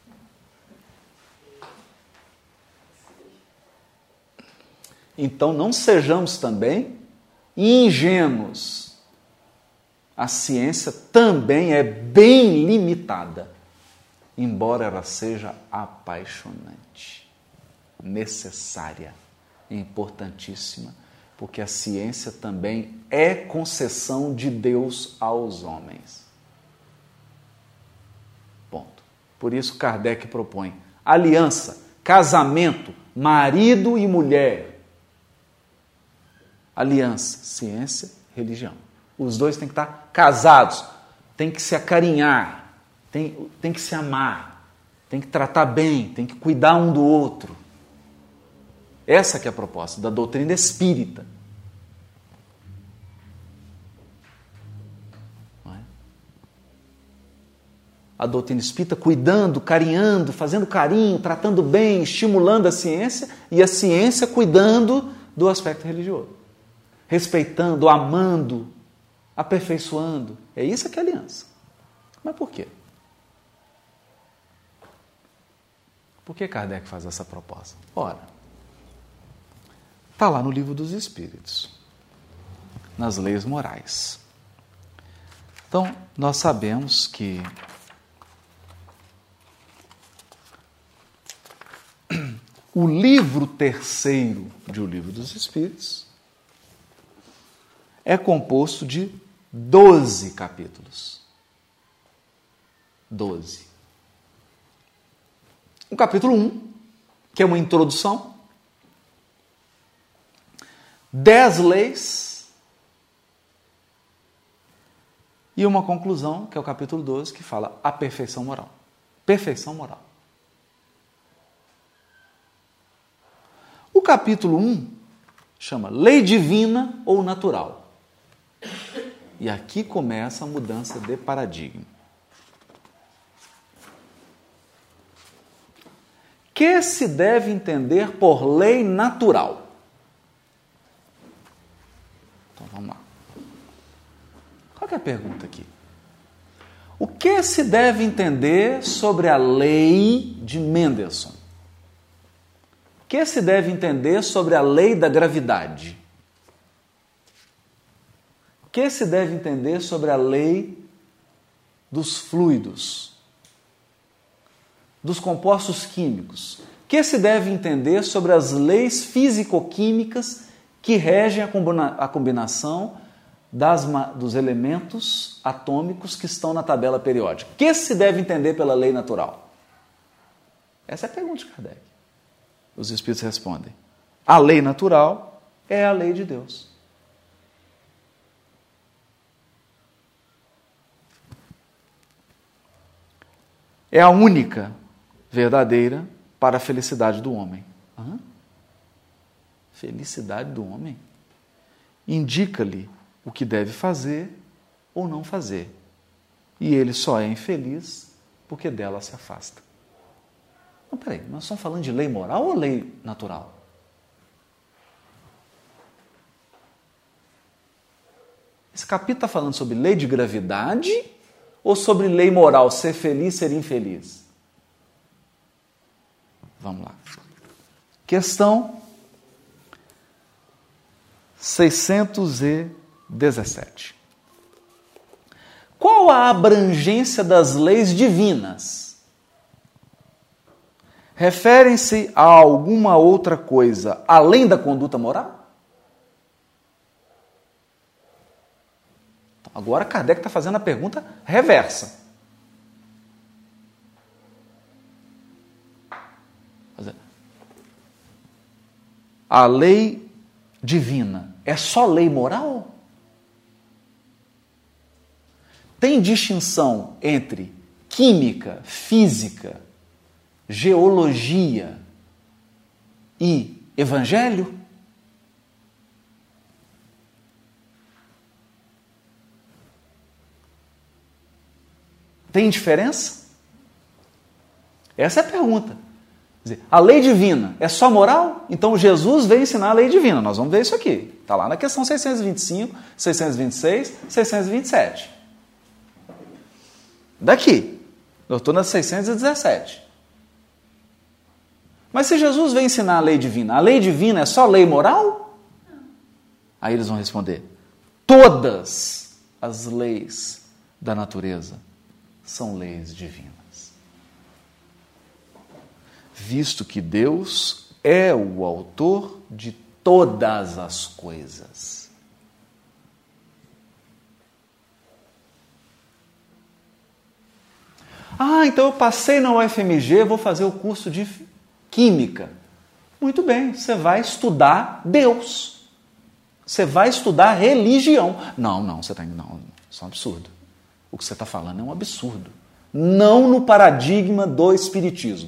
Então não sejamos também ingênuos. A ciência também é bem limitada, embora ela seja apaixonante, necessária, importantíssima, porque a ciência também é concessão de Deus aos homens. Ponto. Por isso Kardec propõe aliança, casamento, marido e mulher. Aliança, ciência, religião. Os dois têm que estar casados, têm que se acarinhar, têm, têm que se amar, têm que tratar bem, têm que cuidar um do outro. Essa que é a proposta da doutrina espírita. Não é? A doutrina espírita cuidando, carinhando, fazendo carinho, tratando bem, estimulando a ciência, e a ciência cuidando do aspecto religioso. Respeitando, amando, aperfeiçoando. É isso que é aliança. Mas por quê? Por que Kardec faz essa proposta? Ora, está lá no Livro dos Espíritos, nas leis morais. Então, nós sabemos que o livro terceiro de O Livro dos Espíritos é composto de doze capítulos. Doze. O capítulo um, que é uma introdução, dez leis e uma conclusão, que é o capítulo doze, que fala a perfeição moral. Perfeição moral. O capítulo um chama Lei Divina ou Natural. E aqui começa a mudança de paradigma. Que se deve entender por lei natural? Então vamos lá. Qual que é a pergunta aqui? O que se deve entender sobre a lei de Mendelssohn? O que se deve entender sobre a lei da gravidade? O que se deve entender sobre a lei dos fluidos, dos compostos químicos? O que se deve entender sobre as leis físico-químicas que regem a, combina- a combinação das, dos elementos atômicos que estão na tabela periódica? O que se deve entender pela lei natural? Essa é a pergunta de Kardec. Os Espíritos respondem: a lei natural é a lei de Deus. É a única verdadeira para a felicidade do homem. Hã? Felicidade do homem? Indica-lhe o que deve fazer ou não fazer. E ele só é infeliz porque dela se afasta. Não, peraí, nós estamos falando de lei moral ou lei natural? Esse capítulo está falando sobre lei de gravidade ou sobre lei moral, ser feliz, ser infeliz? Vamos lá. Questão seiscentos e dezessete. Qual a abrangência das leis divinas? Referem-se a alguma outra coisa além da conduta moral? Agora Kardec está fazendo a pergunta reversa. A lei divina é só lei moral? Tem distinção entre química, física, geologia e evangelho? Tem diferença? Essa é a pergunta. Quer dizer, a lei divina é só moral? Então Jesus veio ensinar a lei divina. Nós vamos ver isso aqui. Está lá na questão seiscentos e vinte e cinco, seiscentos e vinte e seis, seiscentos e vinte e sete. Daqui. Eu estou na seiscentos e dezessete. Mas se Jesus veio ensinar a lei divina, a lei divina é só lei moral? Aí eles vão responder: todas as leis da natureza são leis divinas. Visto que Deus é o autor de todas as coisas. Ah, então eu passei na U F M G, vou fazer o curso de Química. Muito bem, você vai estudar Deus. Você vai estudar religião. Não, não, você está... Não, isso é um absurdo. O que você está falando é um absurdo. Não no paradigma do espiritismo.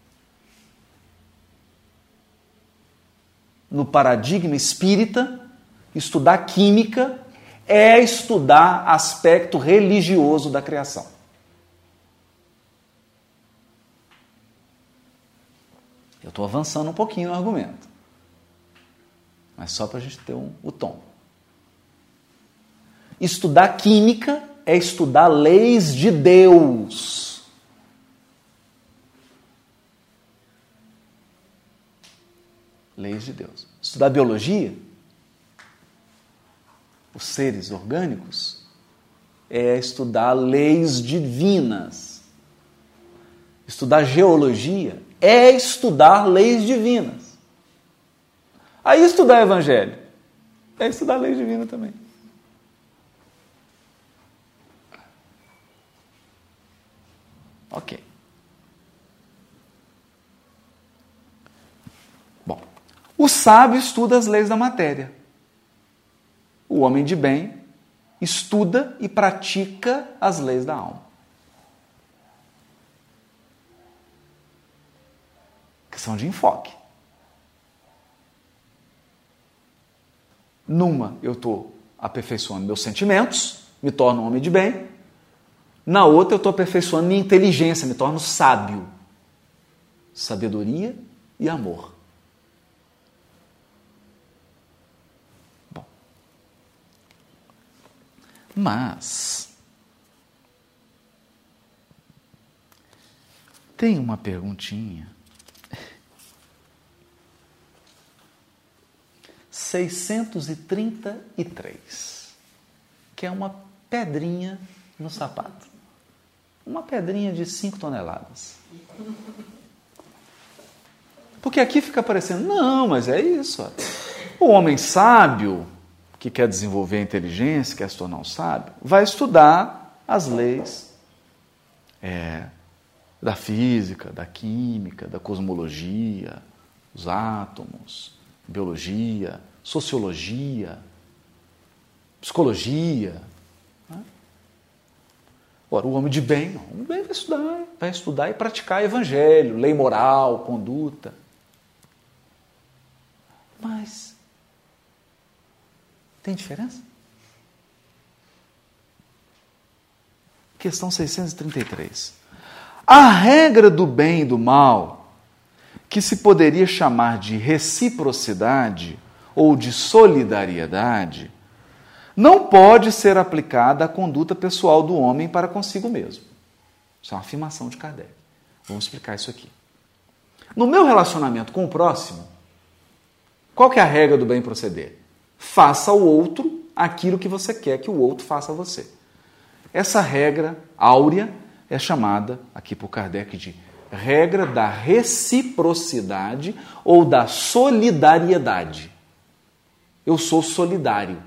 No paradigma espírita, estudar química é estudar aspecto religioso da criação. Eu estou avançando um pouquinho no argumento, mas só para a gente ter um, o tom. Estudar química é estudar leis de Deus. Leis de Deus. Estudar biologia, os seres orgânicos, é estudar leis divinas. Estudar geologia é estudar leis divinas. Aí estudar evangelho é estudar leis divinas também. Ok. Bom, o sábio estuda as leis da matéria. O homem de bem estuda e pratica as leis da alma. Questão de enfoque. Numa, eu estou aperfeiçoando meus sentimentos, me torno um homem de bem. Na outra, eu estou aperfeiçoando minha inteligência, me torno sábio. Sabedoria e amor. Bom. Mas tem uma perguntinha. seiscentos e trinta e três, que é uma pedrinha no sapato. Uma pedrinha de cinco toneladas. Porque aqui fica parecendo, não, mas é isso. Ó. O homem sábio, que quer desenvolver a inteligência, quer se tornar um sábio, vai estudar as leis é, da física, da química, da cosmologia, os átomos, biologia, sociologia, psicologia. Né? Ora, o homem de bem, não, o homem de bem vai estudar, vai estudar e praticar evangelho, lei moral, conduta. Mas tem diferença? Questão seiscentos e trinta e três. A regra do bem e do mal, que se poderia chamar de reciprocidade ou de solidariedade, não pode ser aplicada à conduta pessoal do homem para consigo mesmo. Isso é uma afirmação de Kardec. Vamos explicar isso aqui. No meu relacionamento com o próximo, qual que é a regra do bem proceder? Faça ao outro aquilo que você quer que o outro faça a você. Essa regra áurea é chamada, aqui por Kardec, de regra da reciprocidade ou da solidariedade. Eu sou solidário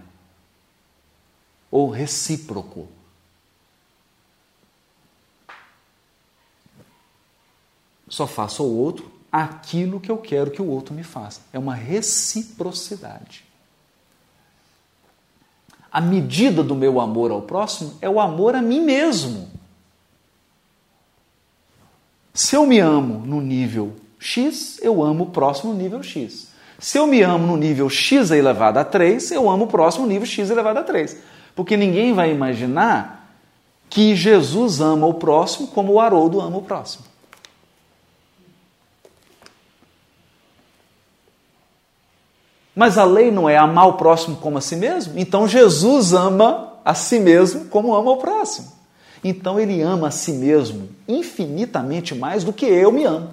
ou recíproco. Só faço ao outro aquilo que eu quero que o outro me faça. É uma reciprocidade. A medida do meu amor ao próximo é o amor a mim mesmo. Se eu me amo no nível X, eu amo o próximo no nível X. Se eu me amo no nível X elevado a três, eu amo o próximo no nível X elevado a três. Porque ninguém vai imaginar que Jesus ama o próximo como o Haroldo ama o próximo. Mas a lei não é amar o próximo como a si mesmo? Então Jesus ama a si mesmo como ama o próximo. Então ele ama a si mesmo infinitamente mais do que eu me amo.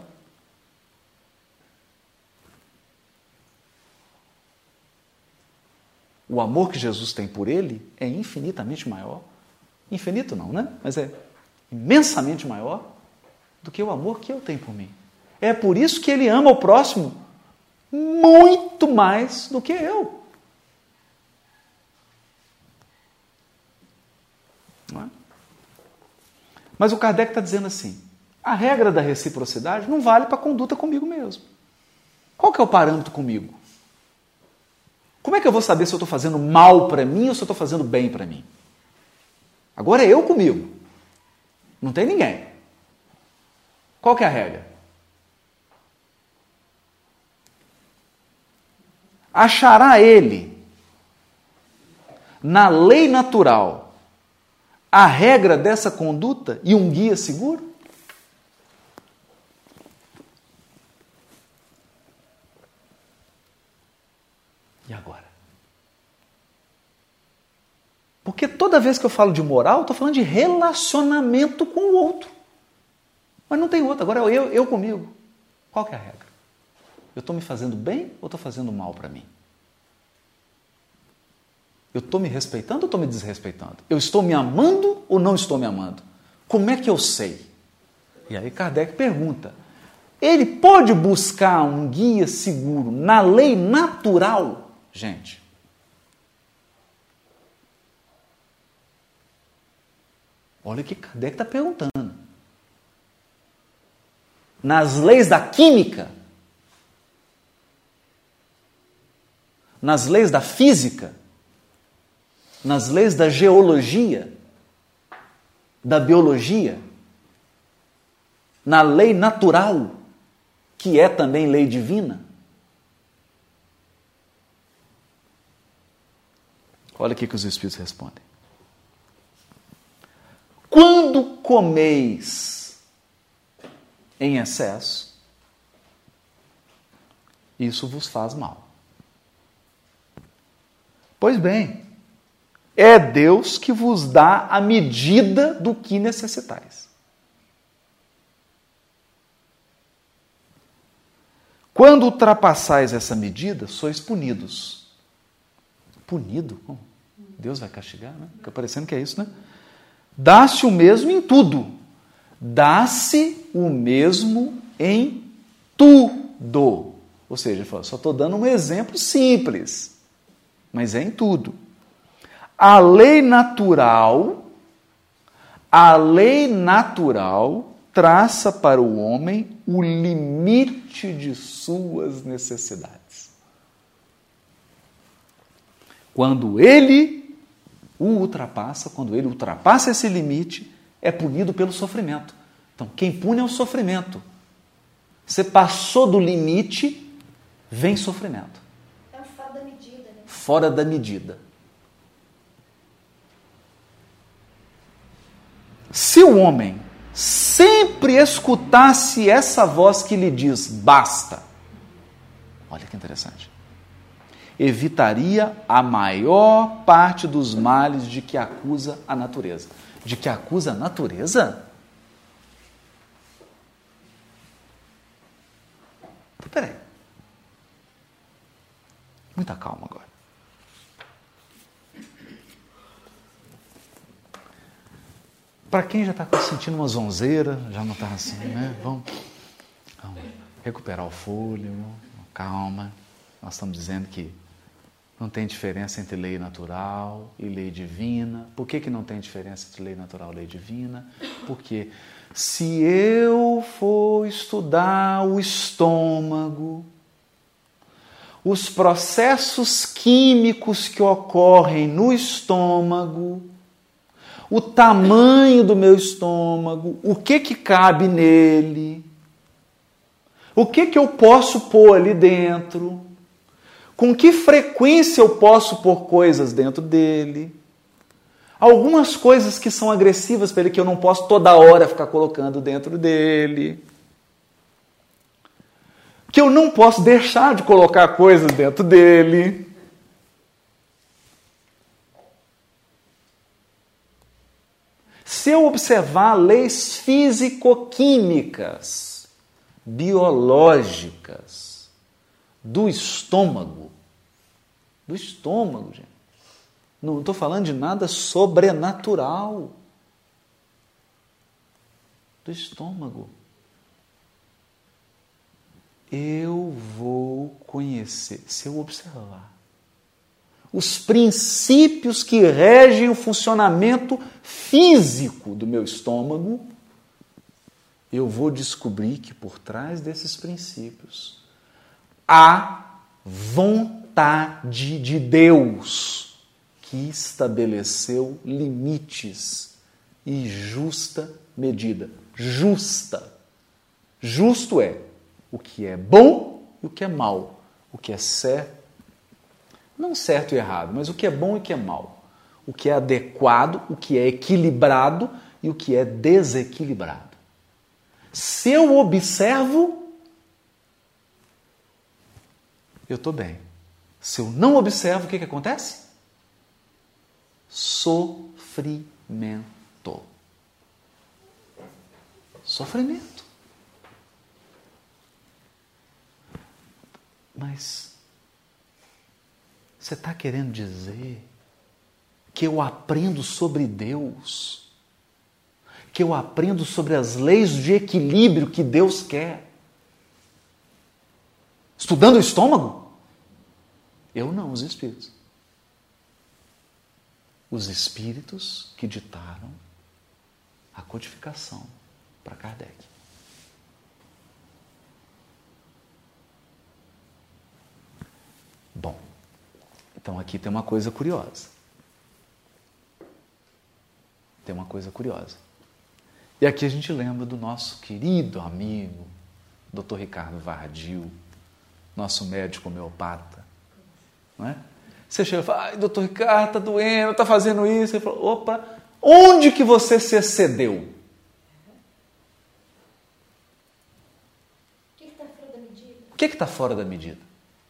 O amor que Jesus tem por ele é infinitamente maior. Infinito não, né? Mas é imensamente maior do que o amor que eu tenho por mim. É por isso que ele ama o próximo muito mais do que eu. Não é? Mas o Kardec está dizendo assim, a regra da reciprocidade não vale para a conduta comigo mesmo. Qual que é o parâmetro comigo? Como é que eu vou saber se eu estou fazendo mal para mim ou se eu estou fazendo bem para mim? Agora é eu comigo. Não tem ninguém. Qual que é a regra? Achará ele, na lei natural, a regra dessa conduta e um guia seguro? E agora? Porque toda vez que eu falo de moral, eu estou falando de relacionamento com o outro. Mas não tem outro, agora é eu, eu comigo. Qual que é a regra? Eu estou me fazendo bem ou estou fazendo mal para mim? Eu estou me respeitando ou estou me desrespeitando? Eu estou me amando ou não estou me amando? Como é que eu sei? E aí Kardec pergunta, ele pode buscar um guia seguro na lei natural? Gente, olha o que Kardec está perguntando. Nas leis da química, nas leis da física, nas leis da geologia, da biologia, na lei natural, que é também lei divina. Olha o que os Espíritos respondem. Quando comeis em excesso, isso vos faz mal. Pois bem, é Deus que vos dá a medida do que necessitais. Quando ultrapassais essa medida, sois punidos. Punido? Oh, Deus vai castigar, né? Fica parecendo que é isso, né? Dá-se o mesmo em tudo. Dá-se o mesmo em tudo. Ou seja, só estou dando um exemplo simples, mas é em tudo. A lei natural, a lei natural traça para o homem o limite de suas necessidades. Quando ele o ultrapassa, quando ele ultrapassa esse limite, é punido pelo sofrimento. Então, quem pune é o sofrimento. Você passou do limite, vem sofrimento. É fora da medida, né? Fora da medida. Se o homem sempre escutasse essa voz que lhe diz, basta, olha que interessante, evitaria a maior parte dos males de que acusa a natureza. De que acusa a natureza? Então, peraí. Muita calma agora. Para quem já está sentindo uma zonzeira, já não está assim, né? Vamos, vamos recuperar o fôlego, calma. Nós estamos dizendo que não tem diferença entre lei natural e lei divina. Por que que não tem diferença entre lei natural e lei divina? Porque se eu for estudar o estômago, os processos químicos que ocorrem no estômago, o tamanho do meu estômago, o que que cabe nele, o que que eu posso pôr ali dentro, com que frequência eu posso pôr coisas dentro dele, algumas coisas que são agressivas para ele que eu não posso toda hora ficar colocando dentro dele, que eu não posso deixar de colocar coisas dentro dele. Se eu observar leis físico-químicas, biológicas, do estômago, do estômago, gente, não estou falando de nada sobrenatural, do estômago, eu vou conhecer, se eu observar os princípios que regem o funcionamento físico do meu estômago, eu vou descobrir que por trás desses princípios há vontade de Deus que estabeleceu limites e justa medida. Justa. Justo é o que é bom e o que é mal. O que é certo, não certo e errado, mas o que é bom e o que é mal. O que é adequado, o que é equilibrado e o que é desequilibrado. Se eu observo, eu estou bem. Se eu não observo, o que, que acontece? Sofrimento. Sofrimento. Mas você está querendo dizer que eu aprendo sobre Deus, que eu aprendo sobre as leis de equilíbrio que Deus quer, estudando o estômago? Eu não, os espíritos. Os espíritos que ditaram a codificação para Kardec. Bom, então aqui tem uma coisa curiosa. Tem uma coisa curiosa. E aqui a gente lembra do nosso querido amigo, doutor Ricardo Vardil, nosso médico homeopata. Não é? Você chega e fala, ai, doutor Ricardo, está doendo, está fazendo isso. Ele fala, opa, onde que você se excedeu? O que está fora da medida? O que está fora da medida?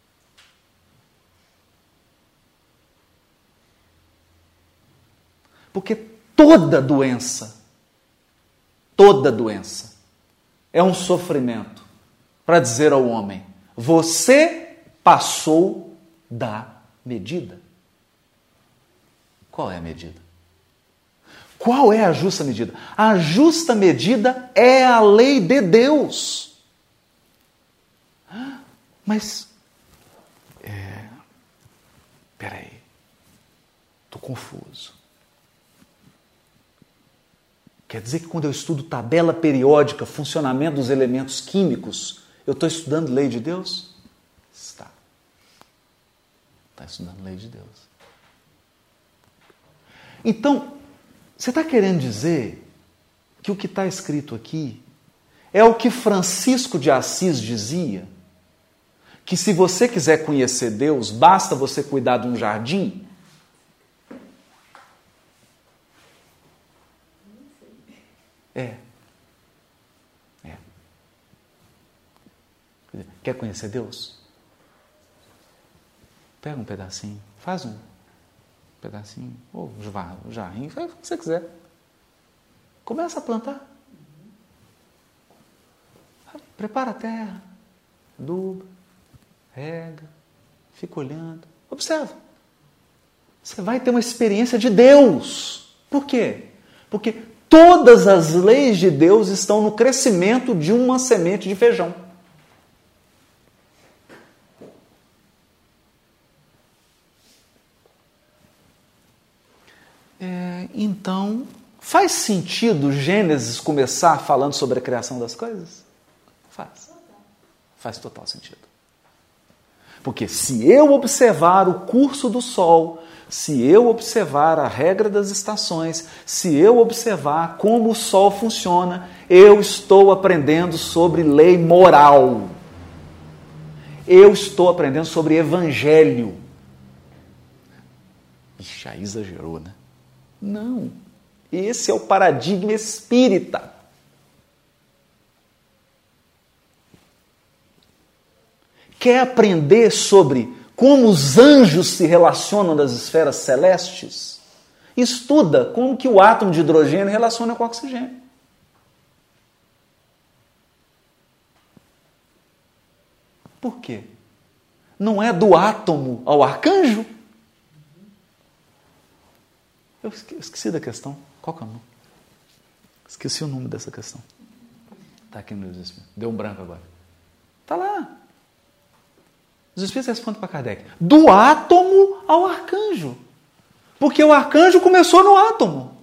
Porque toda doença, toda doença é um sofrimento para dizer ao homem, você passou da medida. Qual é a medida? Qual é a justa medida? A justa medida é a lei de Deus. Mas, é, peraí, estou confuso. Quer dizer que quando eu estudo tabela periódica, funcionamento dos elementos químicos, eu estou estudando lei de Deus? Está. Está estudando lei de Deus. Então, você está querendo dizer que o que está escrito aqui é o que Francisco de Assis dizia? Que se você quiser conhecer Deus, basta você cuidar de um jardim? É. É. Quer conhecer Deus? Pega um pedacinho, faz um pedacinho, ou um jarrinho, faz o que você quiser. Começa a plantar. Prepara a terra, aduba, rega, fica olhando, observa. Você vai ter uma experiência de Deus. Por quê? Porque todas as leis de Deus estão no crescimento de uma semente de feijão. É, então, faz sentido Gênesis começar falando sobre a criação das coisas? Faz. Faz total sentido. Porque se eu observar o curso do Sol, se eu observar a regra das estações, se eu observar como o Sol funciona, eu estou aprendendo sobre lei moral. Eu estou aprendendo sobre evangelho. Ixi, aí exagerou, né? Não. Esse é o paradigma espírita. Quer aprender sobre como os anjos se relacionam nas esferas celestes? Estuda como que o átomo de hidrogênio relaciona com o oxigênio. Por quê? Não é do átomo ao arcanjo? Eu esqueci da questão. Qual que é o nome? Esqueci o nome dessa questão. Está aqui no Espírito. Deu um branco agora. Está lá. Os Espíritos respondem para Kardec. Do átomo ao arcanjo. Porque o arcanjo começou no átomo.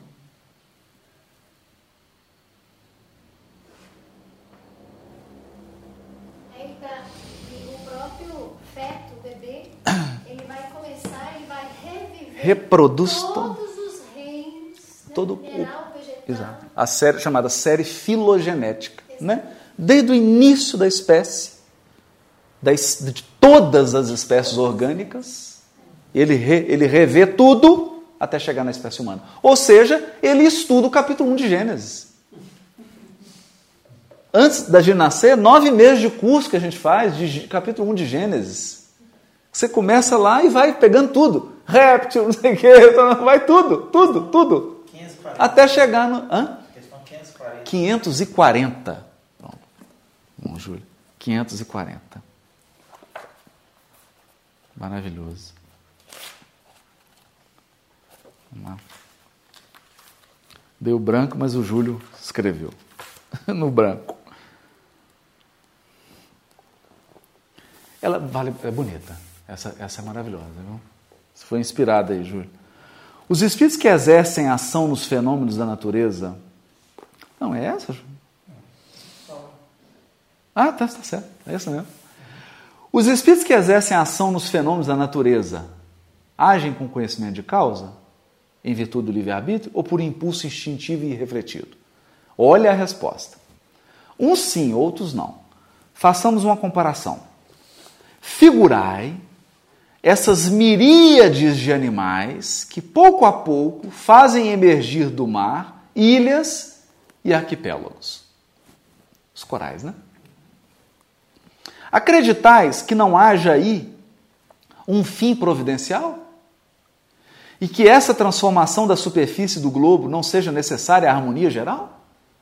Aí tá, o próprio feto, o bebê, ele vai começar, ele vai reviver Reproduz todos todo. os reinos, né? Todo Mineral, vegetal. Exato. A série chamada série filogenética, né? Desde o início da espécie, das, de todas as espécies orgânicas, ele, re, ele revê tudo até chegar na espécie humana. Ou seja, ele estuda o capítulo um de Gênesis. Antes da gente nascer, nove meses de curso que a gente faz de capítulo um de Gênesis. Você começa lá e vai pegando tudo. Réptil, não sei o que, vai tudo, tudo, tudo. quinhentos e quarenta. Até chegar no... Hã? Questão quinhentos e quarenta. quinhentos e quarenta. Pronto. Bom, Júlio. quinhentos e quarenta. Maravilhoso. Vamos lá. Deu branco, mas o Júlio escreveu. No branco. Ela vale, é bonita. Essa, essa é maravilhosa, viu? Você foi inspirada aí, Júlio. Os espíritos que exercem ação nos fenômenos da natureza... Não, é essa, Júlio? Ah, tá, tá certo. É essa mesmo. Os espíritos que exercem ação nos fenômenos da natureza agem com conhecimento de causa, em virtude do livre-arbítrio, ou por impulso instintivo e irrefletido? Olha a resposta. Uns sim, outros não. Façamos uma comparação. Figurai essas miríades de animais que, pouco a pouco, fazem emergir do mar ilhas e arquipélagos. Os corais, né? Acreditais que não haja aí um fim providencial? E que essa transformação da superfície do globo não seja necessária à harmonia geral?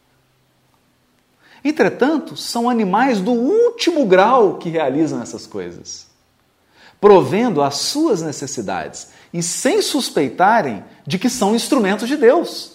Entretanto, são animais do último grau que realizam essas coisas, provendo as suas necessidades e sem suspeitarem de que são instrumentos de Deus.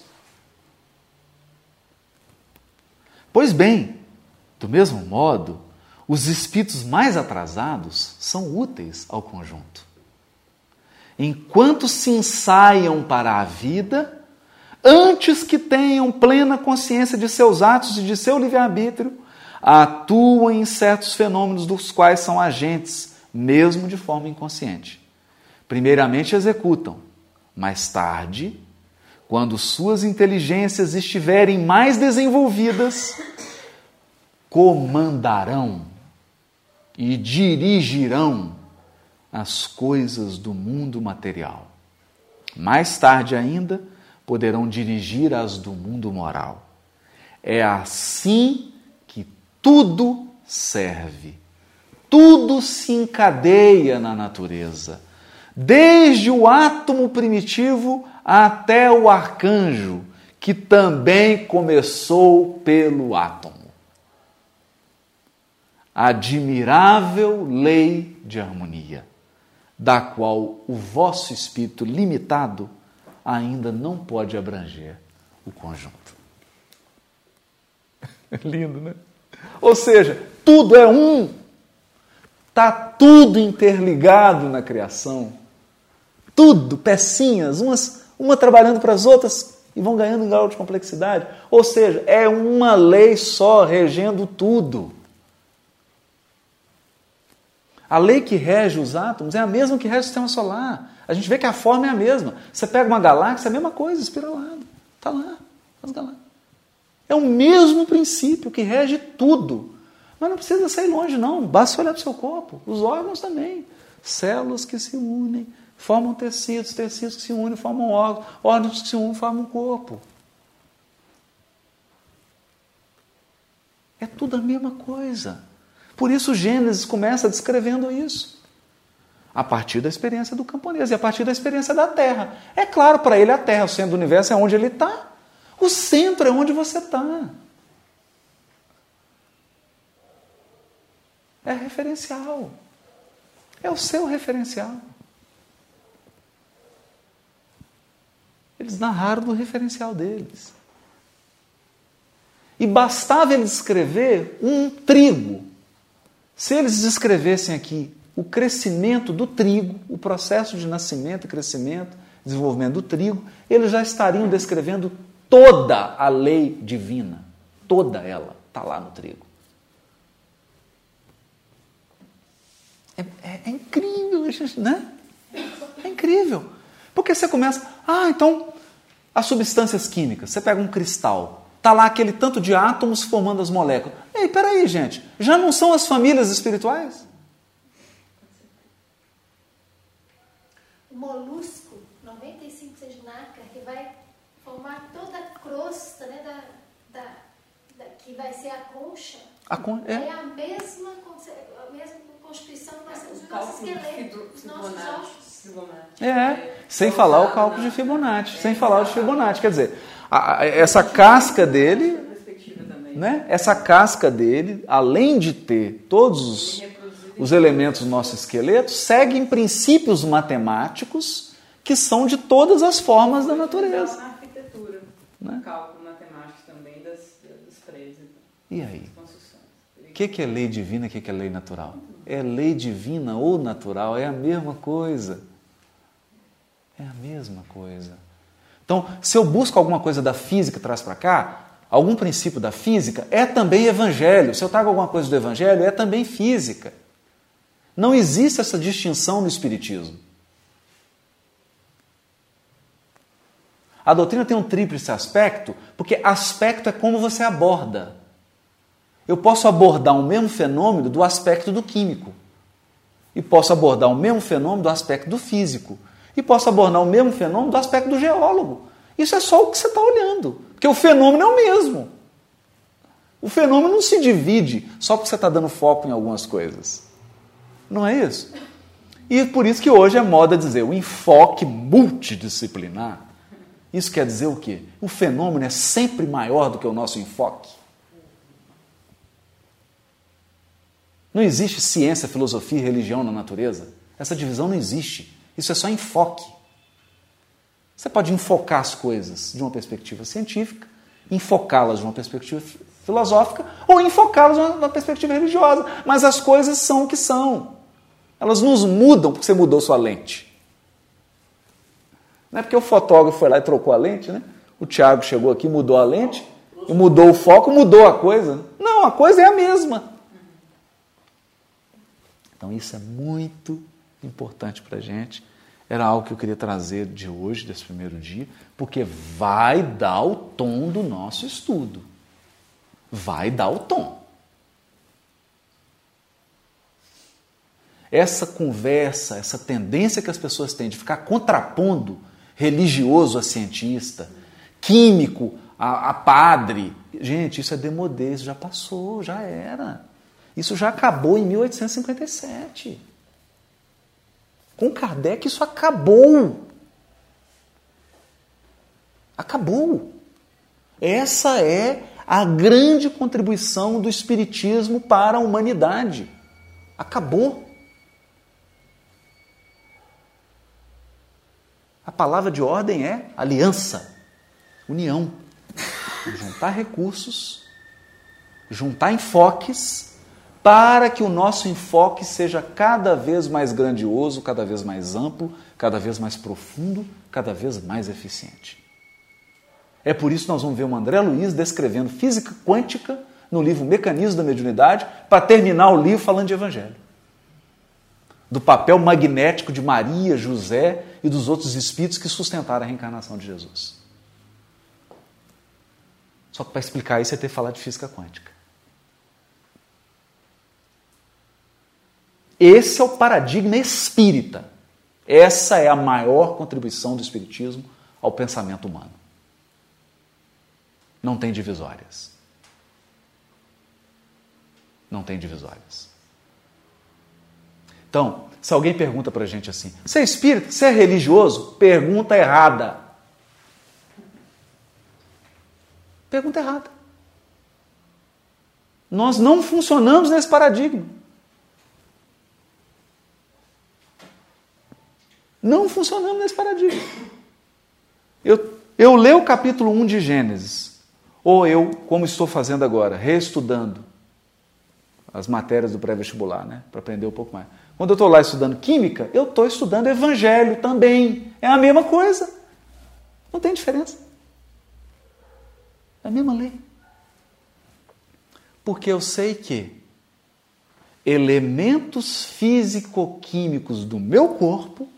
Pois bem, do mesmo modo, os espíritos mais atrasados são úteis ao conjunto. Enquanto se ensaiam para a vida, antes que tenham plena consciência de seus atos e de seu livre-arbítrio, atuam em certos fenômenos dos quais são agentes, mesmo de forma inconsciente. Primeiramente executam, mais tarde, quando suas inteligências estiverem mais desenvolvidas, comandarão e dirigirão as coisas do mundo material. Mais tarde ainda, poderão dirigir as do mundo moral. É assim que tudo serve. Tudo se encadeia na natureza, desde o átomo primitivo até o arcanjo, que também começou pelo átomo. Admirável lei de harmonia, da qual o vosso espírito limitado ainda não pode abranger o conjunto. Lindo, né? Ou seja, tudo é um. Está tudo interligado na criação. Tudo, pecinhas, umas, uma trabalhando para as outras e vão ganhando em grau de complexidade. Ou seja, é uma lei só regendo tudo. A lei que rege os átomos é a mesma que rege o sistema solar. A gente vê que a forma é a mesma. Você pega uma galáxia, é a mesma coisa, espiralada. Está lá, as galáxias. É o mesmo princípio que rege tudo. Mas não precisa sair longe, não. Basta olhar para o seu corpo. Os órgãos também. Células que se unem, formam tecidos, tecidos que se unem, formam órgãos, órgãos que se unem, formam um corpo. É tudo a mesma coisa. Por isso Gênesis começa descrevendo isso. A partir da experiência do camponês e a partir da experiência da Terra. É claro, para ele a Terra, o centro do universo, é onde ele está. O centro é onde você está. É referencial. É o seu referencial. Eles narraram do referencial deles. E bastava eles descrever um trigo. Se eles descrevessem aqui o crescimento do trigo, o processo de nascimento e crescimento, desenvolvimento do trigo, eles já estariam descrevendo toda a lei divina. Toda ela está lá no trigo. É, é, é incrível, né? É incrível. Porque você começa... Ah, então, as substâncias químicas. Você pega um cristal... Está lá aquele tanto de átomos formando as moléculas. Ei, peraí, gente. Já não são as famílias espirituais? O molusco, noventa e cinco por cento de nácar, que vai formar toda a crosta, né, da, da, da, que vai ser a concha. A con... é. é a mesma, a mesma constituição que nós temos no nosso esqueleto, nos nossos ossos. É, sem falar o cálculo de Fibonacci. Sem falar o de Fibonacci. Quer dizer... A, essa casca dele, né? Essa casca dele, além de ter todos os, os elementos do nosso esqueleto, segue em princípios matemáticos que são de todas as formas da natureza. Na arquitetura, né? Cálculo matemático também das, dos prédios. E aí? O que, que é lei divina e o que, que é lei natural? É lei divina ou natural, é a mesma coisa. É a mesma coisa. Então, se eu busco alguma coisa da física e traz para cá, algum princípio da física, é também evangelho. Se eu trago alguma coisa do evangelho, é também física. Não existe essa distinção no espiritismo. A doutrina tem um tríplice aspecto, porque aspecto é como você aborda. Eu posso abordar o mesmo fenômeno do aspecto do químico. E posso abordar o mesmo fenômeno do aspecto do físico. E posso abordar o mesmo fenômeno do aspecto do geólogo. Isso é só o que você está olhando. Porque o fenômeno é o mesmo. O fenômeno não se divide só porque você está dando foco em algumas coisas. Não é isso? E por isso que hoje é moda dizer o enfoque multidisciplinar. Isso quer dizer o quê? O fenômeno é sempre maior do que o nosso enfoque. Não existe ciência, filosofia e religião na natureza. Essa divisão não existe. Isso é só enfoque. Você pode enfocar as coisas de uma perspectiva científica, enfocá-las de uma perspectiva filosófica ou enfocá-las de uma perspectiva religiosa. Mas as coisas são o que são. Elas nos mudam porque você mudou sua lente. Não é porque o fotógrafo foi lá e trocou a lente, né? O Tiago chegou aqui, mudou a lente, e mudou o foco, mudou a coisa. Não, a coisa é a mesma. Então isso é muito importante para a gente. Era algo que eu queria trazer de hoje, desse primeiro dia, porque vai dar o tom do nosso estudo. Vai dar o tom. Essa conversa, essa tendência que as pessoas têm de ficar contrapondo religioso a cientista, químico a, a padre, gente, isso é demodê, isso já passou, já era. Isso já acabou em mil oitocentos e cinquenta e sete. Com Kardec isso acabou. Acabou. Essa é a grande contribuição do Espiritismo para a humanidade. Acabou. A palavra de ordem é aliança, união. Juntar recursos, juntar enfoques, para que o nosso enfoque seja cada vez mais grandioso, cada vez mais amplo, cada vez mais profundo, cada vez mais eficiente. É por isso que nós vamos ver o André Luiz descrevendo física quântica no livro Mecanismos da Mediunidade, para terminar o livro falando de Evangelho. do papel magnético de Maria, José e dos outros espíritos que sustentaram a reencarnação de Jesus. Só que para explicar isso é ter que falar de física quântica. Esse é o paradigma espírita. Essa é a maior contribuição do espiritismo ao pensamento humano. Não tem divisórias. Não tem divisórias. Então, se alguém pergunta para a gente assim, você é espírita? Você é religioso? Pergunta errada. Pergunta errada. Nós não funcionamos nesse paradigma. Não funcionamos nesse paradigma. Eu, eu leio o capítulo um de Gênesis, ou eu, como estou fazendo agora, reestudando as matérias do pré-vestibular, né, para aprender um pouco mais. Quando eu estou lá estudando química, eu estou estudando evangelho também. É a mesma coisa. Não tem diferença. É a mesma lei. Porque eu sei que elementos físico-químicos do meu corpo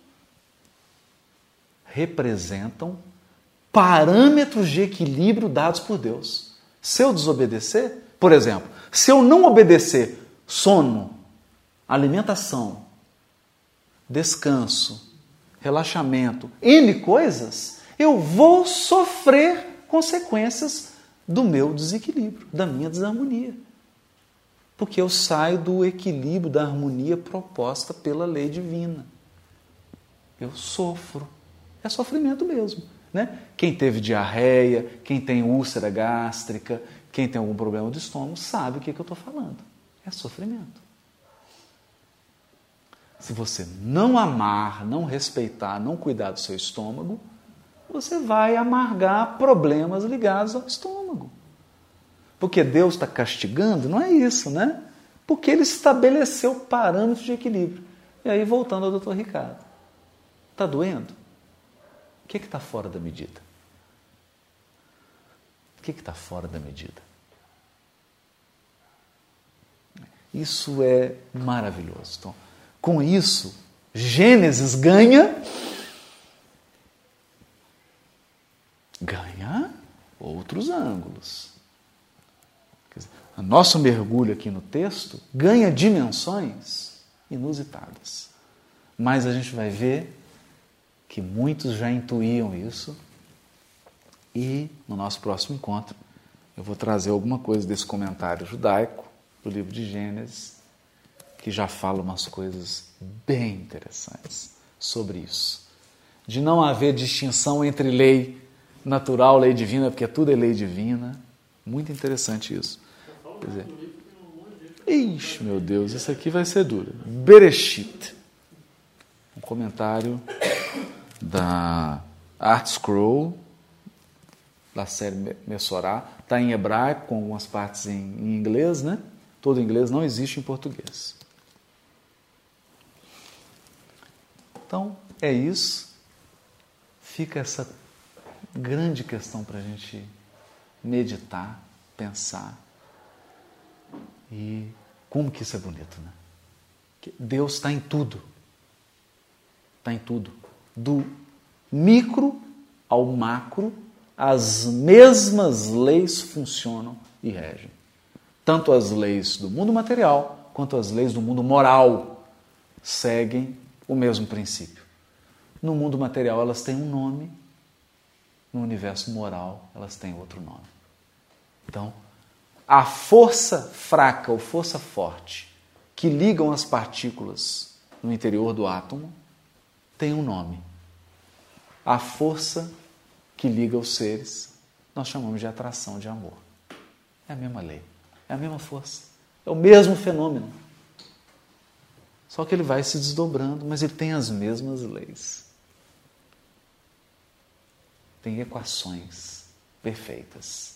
representam parâmetros de equilíbrio dados por Deus. Se eu desobedecer, por exemplo, se eu não obedecer sono, alimentação, descanso, relaxamento, N coisas, eu vou sofrer consequências do meu desequilíbrio, da minha desarmonia. Porque eu saio do equilíbrio, da harmonia proposta pela lei divina. Eu sofro. É sofrimento mesmo, né? Quem teve diarreia, quem tem úlcera gástrica, quem tem algum problema do estômago, sabe o que, que eu estou falando. É sofrimento. Se você não amar, não respeitar, não cuidar do seu estômago, você vai amargar problemas ligados ao estômago. Porque Deus está castigando? Não é isso, né? Porque Ele estabeleceu parâmetros de equilíbrio. E aí, voltando ao doutor Ricardo. Está doendo? O que é que está fora da medida? O que é que está fora da medida? Isso é maravilhoso. Então, com isso, Gênesis ganha... ganha outros ângulos. Quer dizer, o nosso mergulho aqui no texto ganha dimensões inusitadas. Mas a gente vai ver que muitos já intuíam isso, e no nosso próximo encontro eu vou trazer alguma coisa desse comentário judaico do livro de Gênesis, que já fala umas coisas bem interessantes sobre isso. De não haver distinção entre lei natural, lei divina, porque tudo é lei divina. Muito interessante isso. Quer dizer, ixi, meu Deus, isso aqui vai ser duro. Bereshit. Um comentário da Art Scroll, da série Messorá, está em hebraico, com algumas partes em, em inglês, né? Todo inglês não existe em português. Então, é isso. Fica essa grande questão para a gente meditar, pensar. E como que isso é bonito, né? Que Deus está em tudo. Está em tudo. Do micro ao macro, as mesmas leis funcionam e regem. Tanto as leis do mundo material, quanto as leis do mundo moral seguem o mesmo princípio. No mundo material elas têm um nome, no universo moral elas têm outro nome. Então, a força fraca ou força forte que ligam as partículas no interior do átomo tem um nome. A força que liga os seres nós chamamos de atração de amor. É a mesma lei, é a mesma força, é o mesmo fenômeno. Só que ele vai se desdobrando, mas ele tem as mesmas leis. Tem equações perfeitas.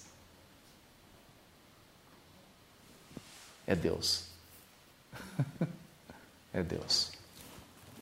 É Deus. É Deus.